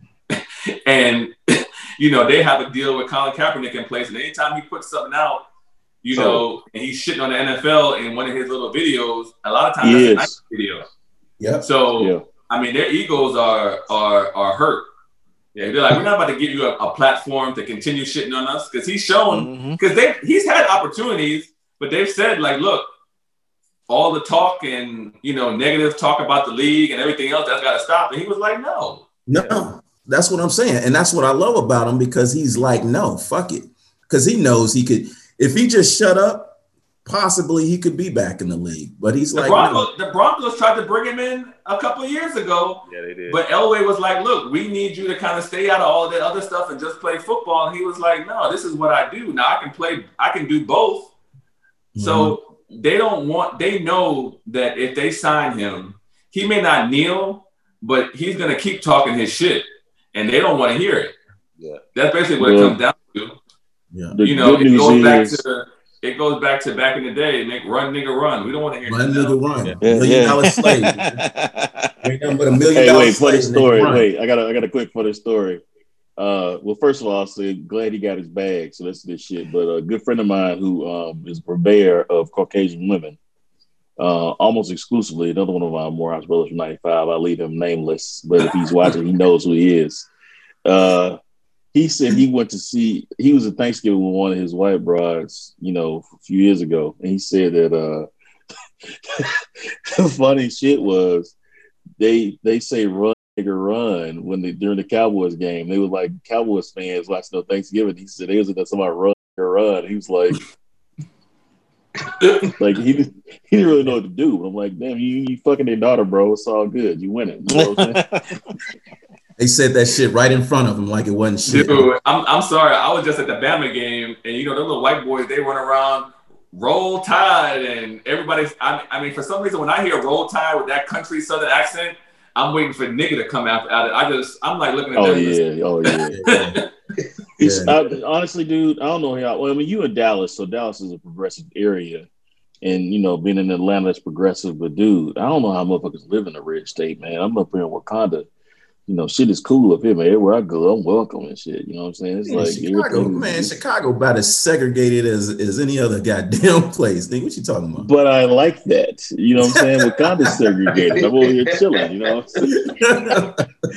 and you know they have a deal with Colin Kaepernick in place. And anytime he puts something out, you so, know, and he's shitting on the N F L in one of his little videos, a lot of times that's a Nike video. Yeah. So yeah. I mean, their egos are are are hurt. Yeah, they're like, we're not about to give you a, a platform to continue shitting on us, because he's shown, because mm-hmm. they he's had opportunities, but they've said like, look, all the talk and, you know, negative talk about the league and everything else, that's got to stop. And he was like, no. No, that's what I'm saying. And that's what I love about him, because he's like, no, fuck it. Because he knows he could, if he just shut up, possibly he could be back in the league. But he's the like, Broncos, no. The Broncos tried to bring him in a couple of years ago. Yeah, they did. But Elway was like, look, we need you to kind of stay out of all that other stuff and just play football. And he was like, no, this is what I do. Now I can play, I can do both. Mm-hmm. So they don't want, they know that if they sign him, he may not kneel, but he's going to keep talking his shit. And they don't want to hear it. Yeah. That's basically what well, it comes down to. Yeah. You know, it goes back to it goes back to back in the day. Make run, nigga, run. We don't want to hear run, nigga, run. Yeah. Million yeah. dollar slave. Ain't nothing but a million hey, dollar wait, slave. funny story. Wait, I got a, I got a quick funny story. Uh, well, first of all, I'll say glad he got his bag. So that's this shit. But a good friend of mine who um, is a purveyor of Caucasian women, uh, almost exclusively. Another one of my Morehouse brothers from ninety-five. I leave him nameless, but if he's watching, he knows who he is. Uh, He said he went to see, he was at Thanksgiving with one of his white brides, you know, a few years ago. And he said that uh, the funny shit was they they say run, nigga, run when they, during the Cowboys game. They were like Cowboys fans watching on Thanksgiving. He said they was like, somebody run, nigga, run. He was like, like he, he didn't really know what to do. But I'm like, damn, you, you fucking their daughter, bro. It's all good. You winning. You know what I'm saying? They said that shit right in front of him like it wasn't shit. Dude, I'm, I'm sorry. I was just at the Bama game, and, you know, the little white boys, they run around, Roll Tide, and everybody's, I, I mean, for some reason, when I hear Roll Tide with that country southern accent, I'm waiting for nigga to come out at it. I just, I'm like looking at oh, them. Yeah. Oh, yeah. It's, yeah. I, honestly, dude, I don't know how, well, I mean, you in Dallas, so Dallas is a progressive area. And, you know, being in Atlanta is progressive, but dude, I don't know how motherfuckers live in a red state, man. I'm up here in Wakanda. You know, shit is cool up here, man. Everywhere I go, I'm welcome and shit. You know what I'm saying? It's man, like Chicago, man. Chicago about as segregated as, as any other goddamn place. Nigga, what you talking about? But I like that. You know what I'm saying? Wakanda's segregated. I'm over here chilling. You know what I'm saying?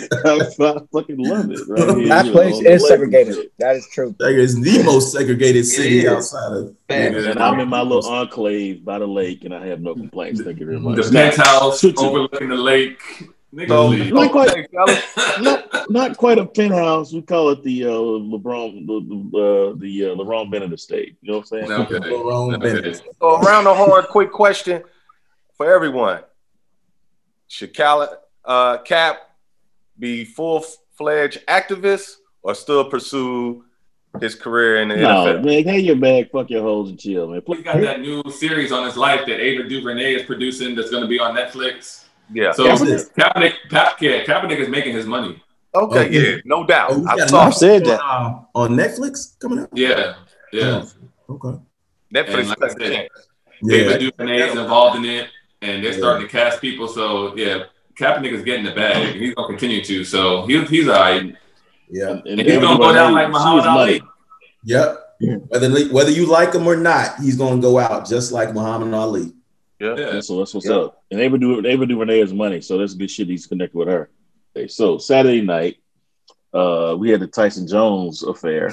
I, I fucking love it. Right here, that place know, is segregated. Shit. That is true. That is the most segregated city outside of. And, and I'm in my little enclave by the lake, and I have no complaints. Thank you very much. The penthouse overlooking the lake. So, not, quite, not, not quite a penthouse. We call it the uh, LeBron, the uh, the uh, LeBron Bennett estate. You know what I'm saying? Okay. LeBron okay. Bennett. So around the horn, quick question for everyone: should Cal, uh, Cap be full-fledged activist or still pursue his career in the no, N F L? Man, take your bag, fuck your hoes, and chill, man. He got that new series on his life that Ava DuVernay is producing. That's going to be on Netflix. Yeah. So Kaepernick, Kaepernick, yeah, Kaepernick is making his money. Okay, okay. yeah, no doubt. Oh, I saw said that on, on Netflix coming out. Yeah, yeah. Oh, okay. Netflix. Like I said, Ava DuVernay is involved in it, and they're yeah. starting to cast people. So yeah, Kaepernick is getting the bag, and he's gonna continue to. So he's he's all right. Yeah, and, and he's gonna go down like Muhammad Ali. Yep. Whether whether you like him or not, he's gonna go out just like Muhammad Ali. Yeah. yeah. So that's what's yeah. up. And Ava do Ava DuVernay has money, so that's good shit. He's connected with her. Okay, so Saturday night, uh, we had the Tyson Jones affair.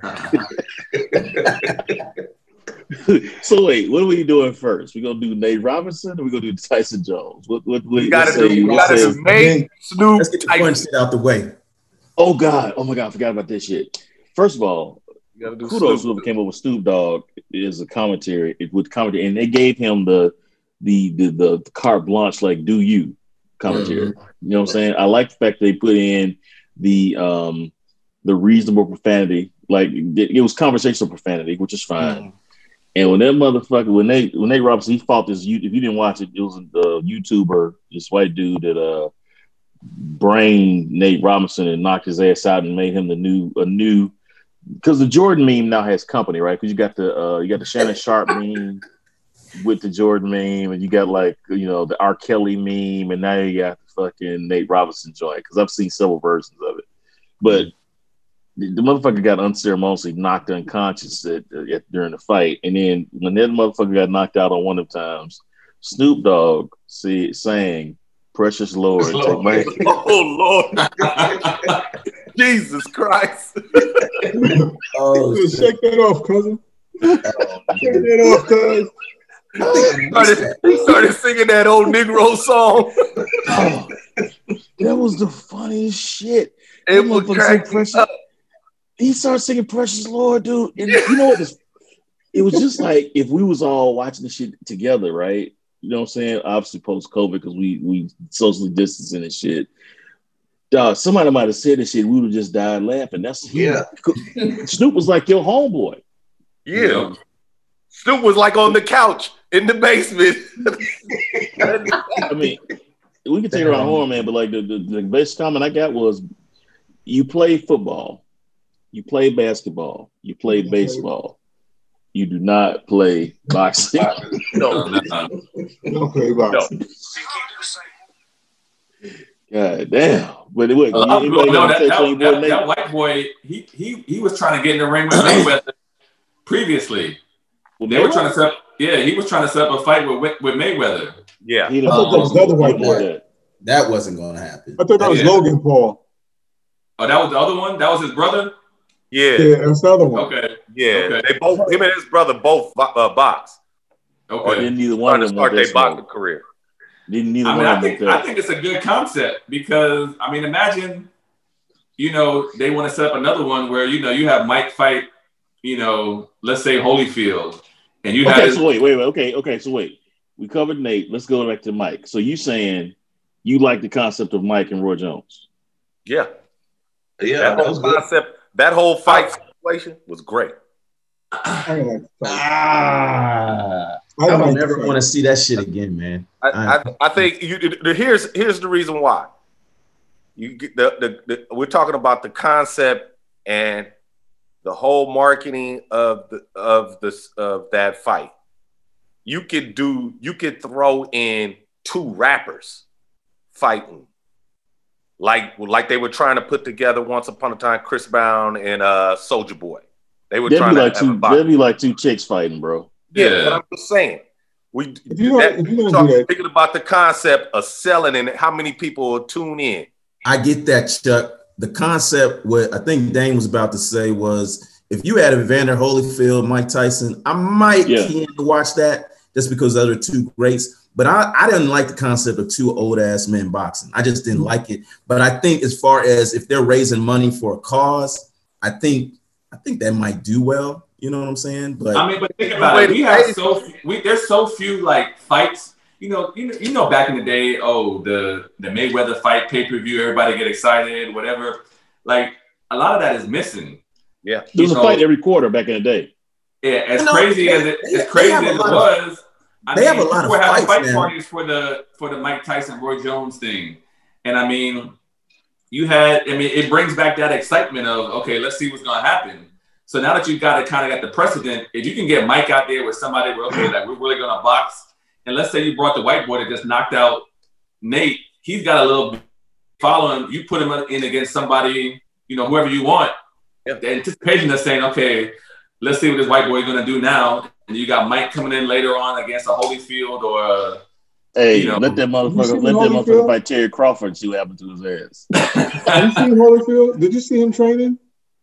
So wait, what are we doing first? We gonna do Nate Robinson, or we gonna do Tyson Jones? What what, what we gotta do? We gotta do Nate, Snoop. Let's get the fun shit out the way. Oh God! Oh my God! I forgot about this shit. First of all, you gotta do kudos whoever came up with Snoop Dogg is a commentary with commentary, and they gave him the the the the, the carte blanche, like do you commentary. Mm-hmm. You know what I'm saying? I like the fact they put in the um the reasonable profanity, like it, it was conversational profanity, which is fine. Mm-hmm. And when that motherfucker, when they when Nate Robinson, he fought this. If you didn't watch it, it was a YouTuber, this white dude that uh brain Nate Robinson and knocked his ass out and made him the new a new because the Jordan meme now has company, right? Because you got the uh, you got the Shannon Sharp meme with the Jordan meme, and you got like you know the R. Kelly meme, and now you got the fucking Nate Robinson joint. Because I've seen several versions of it, but the, the motherfucker got unceremoniously knocked unconscious at, at, during the fight, and then when that motherfucker got knocked out on one of the times, Snoop Dogg see, sang "Precious Lord." Take my- oh Lord, Jesus Christ! Oh, Dude, shake that off, cousin. Shake that off, cuz. He started, he started singing that old Negro song. Oh, that was the funniest shit. It That was motherfucker cracking sang Precious- up. He started singing "Precious Lord," dude, and you know what? Was, it was just like if we was all watching the shit together, right? You know what I'm saying? Obviously post COVID because we we socially distancing and shit. Dog, somebody might have said this shit. We would have just died laughing. That's Yeah. Snoop was like your homeboy. Yeah. Snoop was like on the couch in the basement. I mean, we can take it around horror, man, but like the, the, the best comment I got was you play football, you play basketball, you play baseball. You do not play boxing. No, No, no. Don't play boxing. God damn. But it was A lot of people anybody know got that, to touch on your that, boy that, Nate? that white boy, he he he was trying to get in the ring with Mayweather previously. Well, They were Mayweather? trying to set up, yeah, he was trying to set up a fight with with Mayweather. yeah. He I thought that was the other white boy. that. That wasn't going to happen. I thought that was Yeah. Logan Paul. Oh, that was the other one? That was his brother? Yeah, Yeah, that's the other one. Okay. yeah. Okay. They both, him and his brother, both uh, box. Or Okay. didn't neither one Trying of to them want start their that boxing smoke. career. Didn't neither I mean, one I of them think want I that. think it's a good concept because I mean, imagine, you know, they want to set up another one where you know you have Mike fight, you know, let's say Holyfield, and you Okay, have so wait, wait, wait. Okay, okay, so wait. We covered Nate. Let's go back to Mike. So you saying you like the concept of Mike and Roy Jones? Yeah, Yeah, that that whole was good. concept, that whole fight situation was great. I ain't like the fight. Ah, I I don't don't like the never fight. want to see that shit again, man. I, I, I think you. the- Here's here's the reason why. You get the, the the we're talking about the concept and the whole marketing of the of this of that fight. You could do. You could throw in two rappers fighting, like like they were trying to put together once upon a time. Chris Brown and uh, Soulja Boy. They were That'd trying be to like have a two. fight. That'd be like two chicks fighting, bro. Yeah, Yeah. but I'm just saying. We If you that, gonna- if you gonna talk- do that- thinking about the concept of selling and how many people will tune in. I get that, Chuck. The concept, what I think Dane was about to say was, if you had Evander Holyfield, Mike Tyson, I might Yeah. keen to watch that just because those are two greats. But I, I didn't like the concept of two old ass men boxing. I just didn't like it. But I think as far as if they're raising money for a cause, I think I think that might do well. You know what I'm saying? But I mean, but think about it. We have so we there's so few like fights. You know, you know, you know, back in the day, oh, the the Mayweather fight pay per view, everybody get excited, whatever. Like a lot of that is missing. Yeah, There was You a know, fight every quarter back in the day. Yeah, as You know, crazy they- as it they- as crazy they have a as it lot of- was, I they mean, have a lot of people were having fights fight now. parties for the for the Mike Tyson Roy Jones thing, and I mean, you had. I mean, it brings back that excitement of okay, let's see what's gonna happen. So now that you've got it, kind of got the precedent, if you can get Mike out there with somebody, where okay, like we're really gonna box, and let's say you brought the white boy that just knocked out Nate, he's got a little following. You put him in against somebody, you know, whoever you want. Yeah. The anticipation is saying, okay, let's see what this white boy is gonna do now. And you got Mike coming in later on against a Holyfield or a, Hey, you know, let that You motherfucker see let that Holyfield? motherfucker fight Terry Crawford and see what happened to his ass. Have you seen Holyfield? Did you see him training?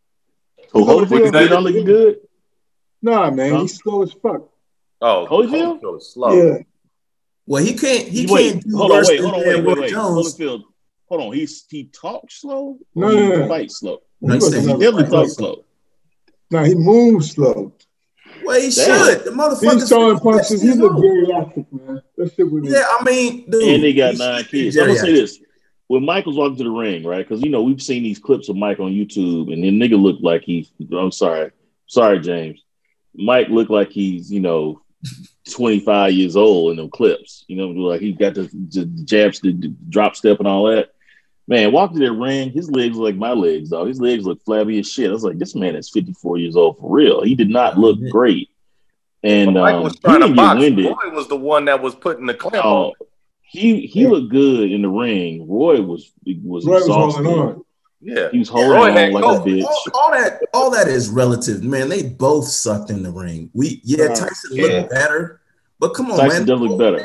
Who Holyfield? Holyfield he don't looking good? Nah, man, Huh? he's slow as fuck. Oh, Holyfield? Holyfield is slow. Yeah. well, he can't he wait, can't do hold on, worse wait, than hold on, wait, Roy wait, wait. Jones. Holyfield, hold on. He's he talks slow. No, Or no, he no. fights slow. No, He he was said He another definitely fight. talks slow. Nah, he moves slow. Well, he Damn. should. The He's motherfucker. throwing punches. He look geriatric, man. That shit was Yeah, I mean, dude. And they got he nine should be kids. I'm gonna say geriatric. this: when Michael's walking to the ring, right? Because you know we've seen these clips of Mike on YouTube, and the nigga looked like he's. I'm sorry, sorry, James. Mike looked like he's you know twenty-five years old in them clips. You know, like he got the, the jabs, the, the drop step, and all that. Man, walked to that ring, his legs look like my legs, dog. His legs look flabby as shit. I was like, this man is fifty-four years old for real. He did not look great. And Mike um, was trying he to didn't box. get winded. Roy was the one that was putting the clamp Oh, on. he he looked good in the ring. Roy was was Roy was exhausted. holding on. Yeah, He was holding Roy on had like all, a bitch. all, all that, all that is relative, man. They both sucked in the ring. We, yeah, Uh, Tyson yeah. looked better, but come on, Tyson man. definitely better.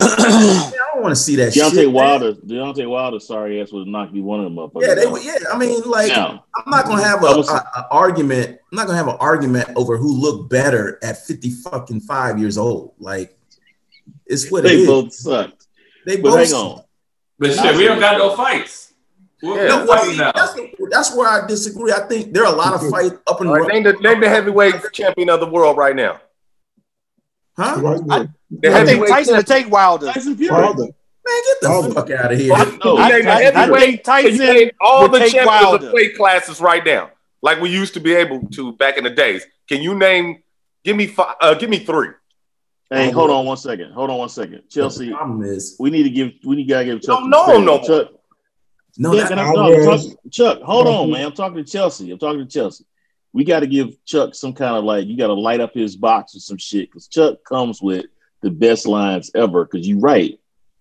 I don't want to see that Deontay shit. Wilder, Deontay Wilder, sorry ass would knock you one of them motherfuckers. Yeah, they out. were. Yeah, I mean, like, Now, I'm not gonna have a, I was- a, a argument. I'm not gonna have an argument over who looked better at fifty fucking five years old. Like, it's what it they is. both sucked. They But both. hang suck. on. But shit, we don't got no fights. We're Yeah. not No, fighting see, now. that's, that's where I disagree. I think there are a lot of fights up and All right, name the name the heavyweight champion of the world right now. huh? Right there. The I think heavyweight Tyson would champion. take Wilder. Tyson Fury. Wilder. Man, get the Wilder. fuck out of here. Can No, you I, name the I, I heavyweight? think Can you Tyson name all would the take champions Wilder. of weight classes right now, like we used to be able to back in the days? Can you name? Give me five. Uh, give me three. Hey, hold on one second. Hold on one second. Chelsea, The problem is, we need to give we need to give Chuck. Don't know him no more. Chuck, no, yeah, that, can I, no, I'm talking- Chuck, hold on, man. I'm talking to Chelsea. I'm talking to Chelsea. We got to give Chuck some kind of like, you got to light up his box or some shit because Chuck comes with the best lines ever. Because you're right.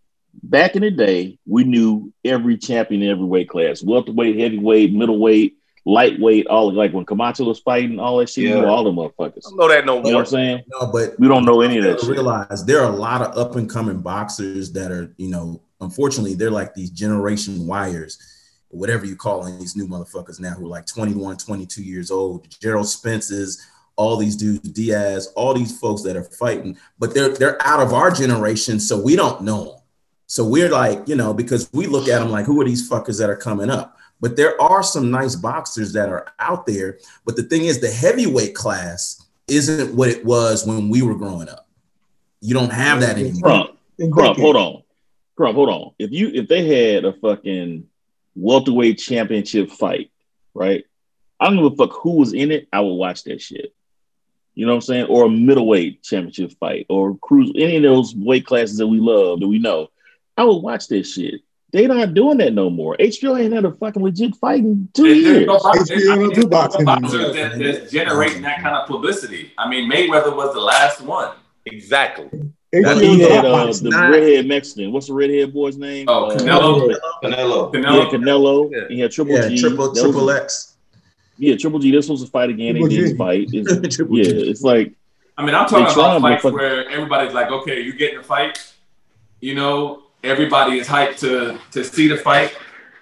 Back in the day, we knew every champion in every weight class: welterweight, heavyweight, middleweight, lightweight. All like when Camacho was fighting, all that shit. Yeah. You know all them motherfuckers. I don't know that no You know more. what I'm saying? no, but We don't know any of you that gotta shit. realize there are a lot of up and coming boxers that are, you know, unfortunately, they're like these generation wires, whatever you call them, these new motherfuckers now who are like twenty-one, twenty-two years old. Gerald Spence's, all these dudes, Diaz, all these folks that are fighting, but they're they're out of our generation, so we don't know them. So we're like, you know, because we look at them like, who are these fuckers that are coming up? But there are some nice boxers that are out there. But the thing is, the heavyweight class isn't what it was when we were growing up. You don't have that anymore. Crump, Crump, hold on. Crump, hold on. If you if they had a fucking welterweight championship fight, right? I don't give a fuck who was in it. I would watch that shit. You know what I'm saying? Or a middleweight championship fight, or cruise, any of those weight classes that we love, that we know. I would watch that shit. They not doing that no more. H B O ain't had a fucking legit fight in two There's years. no box- H B O don't do boxing boxers anymore. that, that's generating that kind of publicity. I mean, Mayweather was the last one. Exactly. H B O He don't had do uh, boxing. the redhead Mexican. What's the redhead boy's name? Oh, Uh, Canelo. Canelo. He had Canelo. Canelo. Yeah. He had Triple Yeah, G. triple That triple was- X. Yeah, Triple G. This was a fight again. Triple They didn't G. fight. It's- Triple yeah, G. it's like I mean, I'm talking They about trying, fights but- where everybody's like, okay, you get in a fight. You know, everybody is hyped to to see the fight.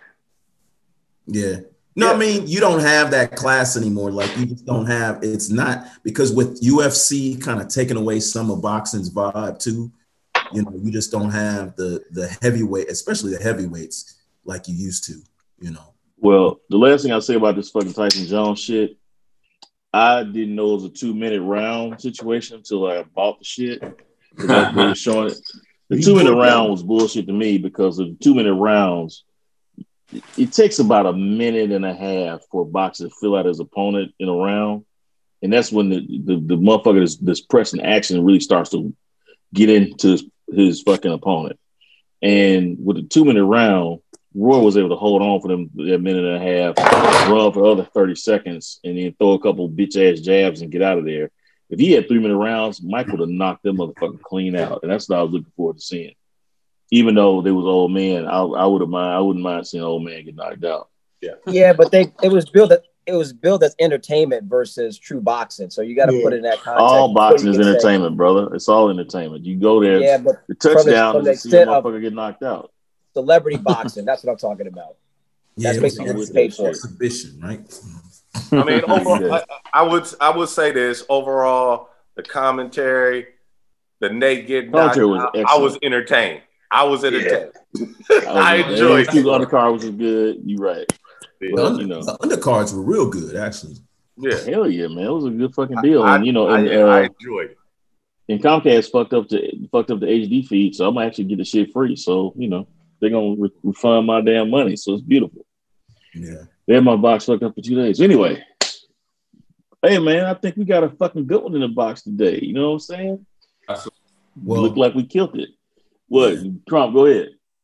Yeah. No, Yeah. I mean, you don't have that class anymore. Like, you just don't have, it's not, because with U F C kind of taking away some of boxing's vibe too, you know, you just don't have the the heavyweight, especially the heavyweights, like you used to, you know. Well, the last thing I say about this fucking Tyson Jones shit, I didn't know it was a two minute round situation until I bought the shit. 'Cause I- they were showing it. The two minute round was bullshit to me because of the two minute rounds. It, it takes about a minute and a half for a boxer to fill out his opponent in a round, and that's when the the, the motherfucker that's, that's pressing action really starts to get into his, his fucking opponent. And with the two minute round, Roy was able to hold on for them that minute and a half, run for the other thirty seconds, and then throw a couple bitch ass jabs and get out of there. If he had three minute rounds, Mike would have knocked them motherfucking clean out, and that's what I was looking forward to seeing. Even though they was old man, I, I would have mind. I wouldn't mind seeing old man get knocked out. Yeah, but they it was built it was billed as entertainment versus true boxing. So you got to Yeah. put it in that context. All before boxing you is can say- entertainment, brother. It's all entertainment. You go there, Yeah, but the from the- touchdown from the is to see a extent of- motherfucker get knocked out. celebrity boxing. That's what I'm talking about. Yeah, That's it was basically an what it's paid for. exhibition, right? I mean, overall, Yeah. I, I would I would say this overall, the commentary, the Nate getting knocked Commentary was out, I excellent. was entertained. I was entertained. I, I was- enjoyed the it. undercard was good. You right. The, But, under, you know. the undercards were real good, actually. Yeah, Hell yeah, man! It was a good fucking deal. I, and you know, I, and, I, uh, I enjoyed it. and Comcast fucked up the fucked up the H D feed, so I'm gonna actually get the shit free. So you know, they're gonna re- refund my damn money. So it's beautiful. Yeah. They had my box fucked up for two days. Anyway, hey man, I think we got a fucking good one in the box today. You know what I'm saying? That's We Well, look like we killed it. What, Trump? Go ahead.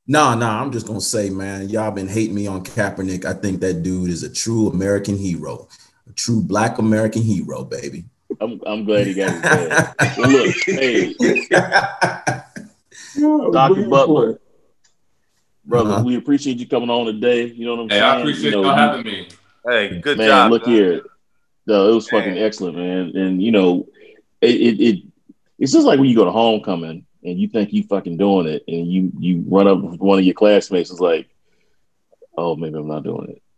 Nah, nah, I'm just gonna say, man, y'all been hating me on Kaepernick. I think that dude is a true American hero, a true Black American hero, baby. I'm I'm glad he got his bag. Well, look, hey, Doctor Butler, brother, uh-huh. we appreciate you coming on today. You know what I'm hey, saying? I appreciate you know, y'all having me. Hey, good man, job. Look man. here. No, it was fucking man. excellent, man. And you know, it, it it it's just like when you go to homecoming and you think you fucking doing it, and you you run up with one of your classmates. It's like, oh, maybe I'm not doing it.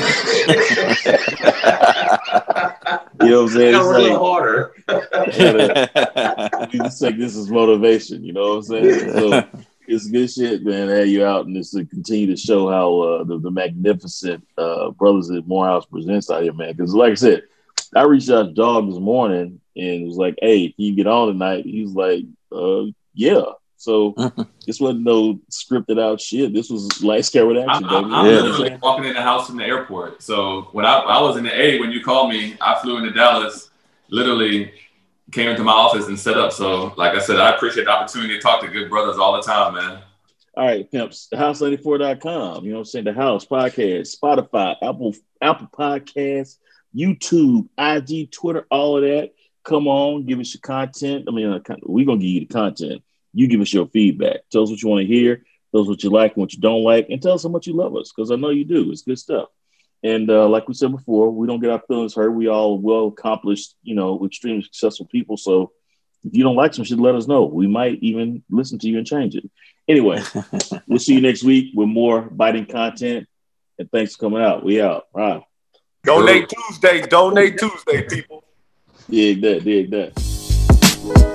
You know what I'm saying? It's a like, little harder. We just take this as motivation. You know what I'm saying? So it's good shit, man. To have you out and just to continue to show how uh, the, the magnificent uh, brothers at Morehouse presents out here, man. Because like I said, I reached out to Dog this morning and was like, "Hey, can you get on tonight?" He was like, uh, "Yeah." So this wasn't no scripted out shit. This was light scare action, I'm, baby. I'm yeah. literally walking in the house from the airport. So when I, I was in the A, when you called me, I flew into Dallas, literally came into my office and set up. So like I said, I appreciate the opportunity to talk to good brothers all the time, man. All right, pimps, the house ninety-four dot com. You know what I'm saying? The House Podcast, Spotify, Apple, Apple Podcasts, YouTube, I G, Twitter, all of that. Come on, give us your content. I mean, uh, we're going to give you the content. You give us your feedback. Tell us what you want to hear. Tell us what you like and what you don't like. And tell us how much you love us, because I know you do. It's good stuff. And uh, like we said before, we don't get our feelings hurt. We all well-accomplished, you know, extremely successful people. So if you don't like some shit, let us know. We might even listen to you and change it. Anyway, we'll see you next week with more biting content. And thanks for coming out. We out. All right. Donate Tuesday. Donate Tuesday, people. Dig that. Dig that.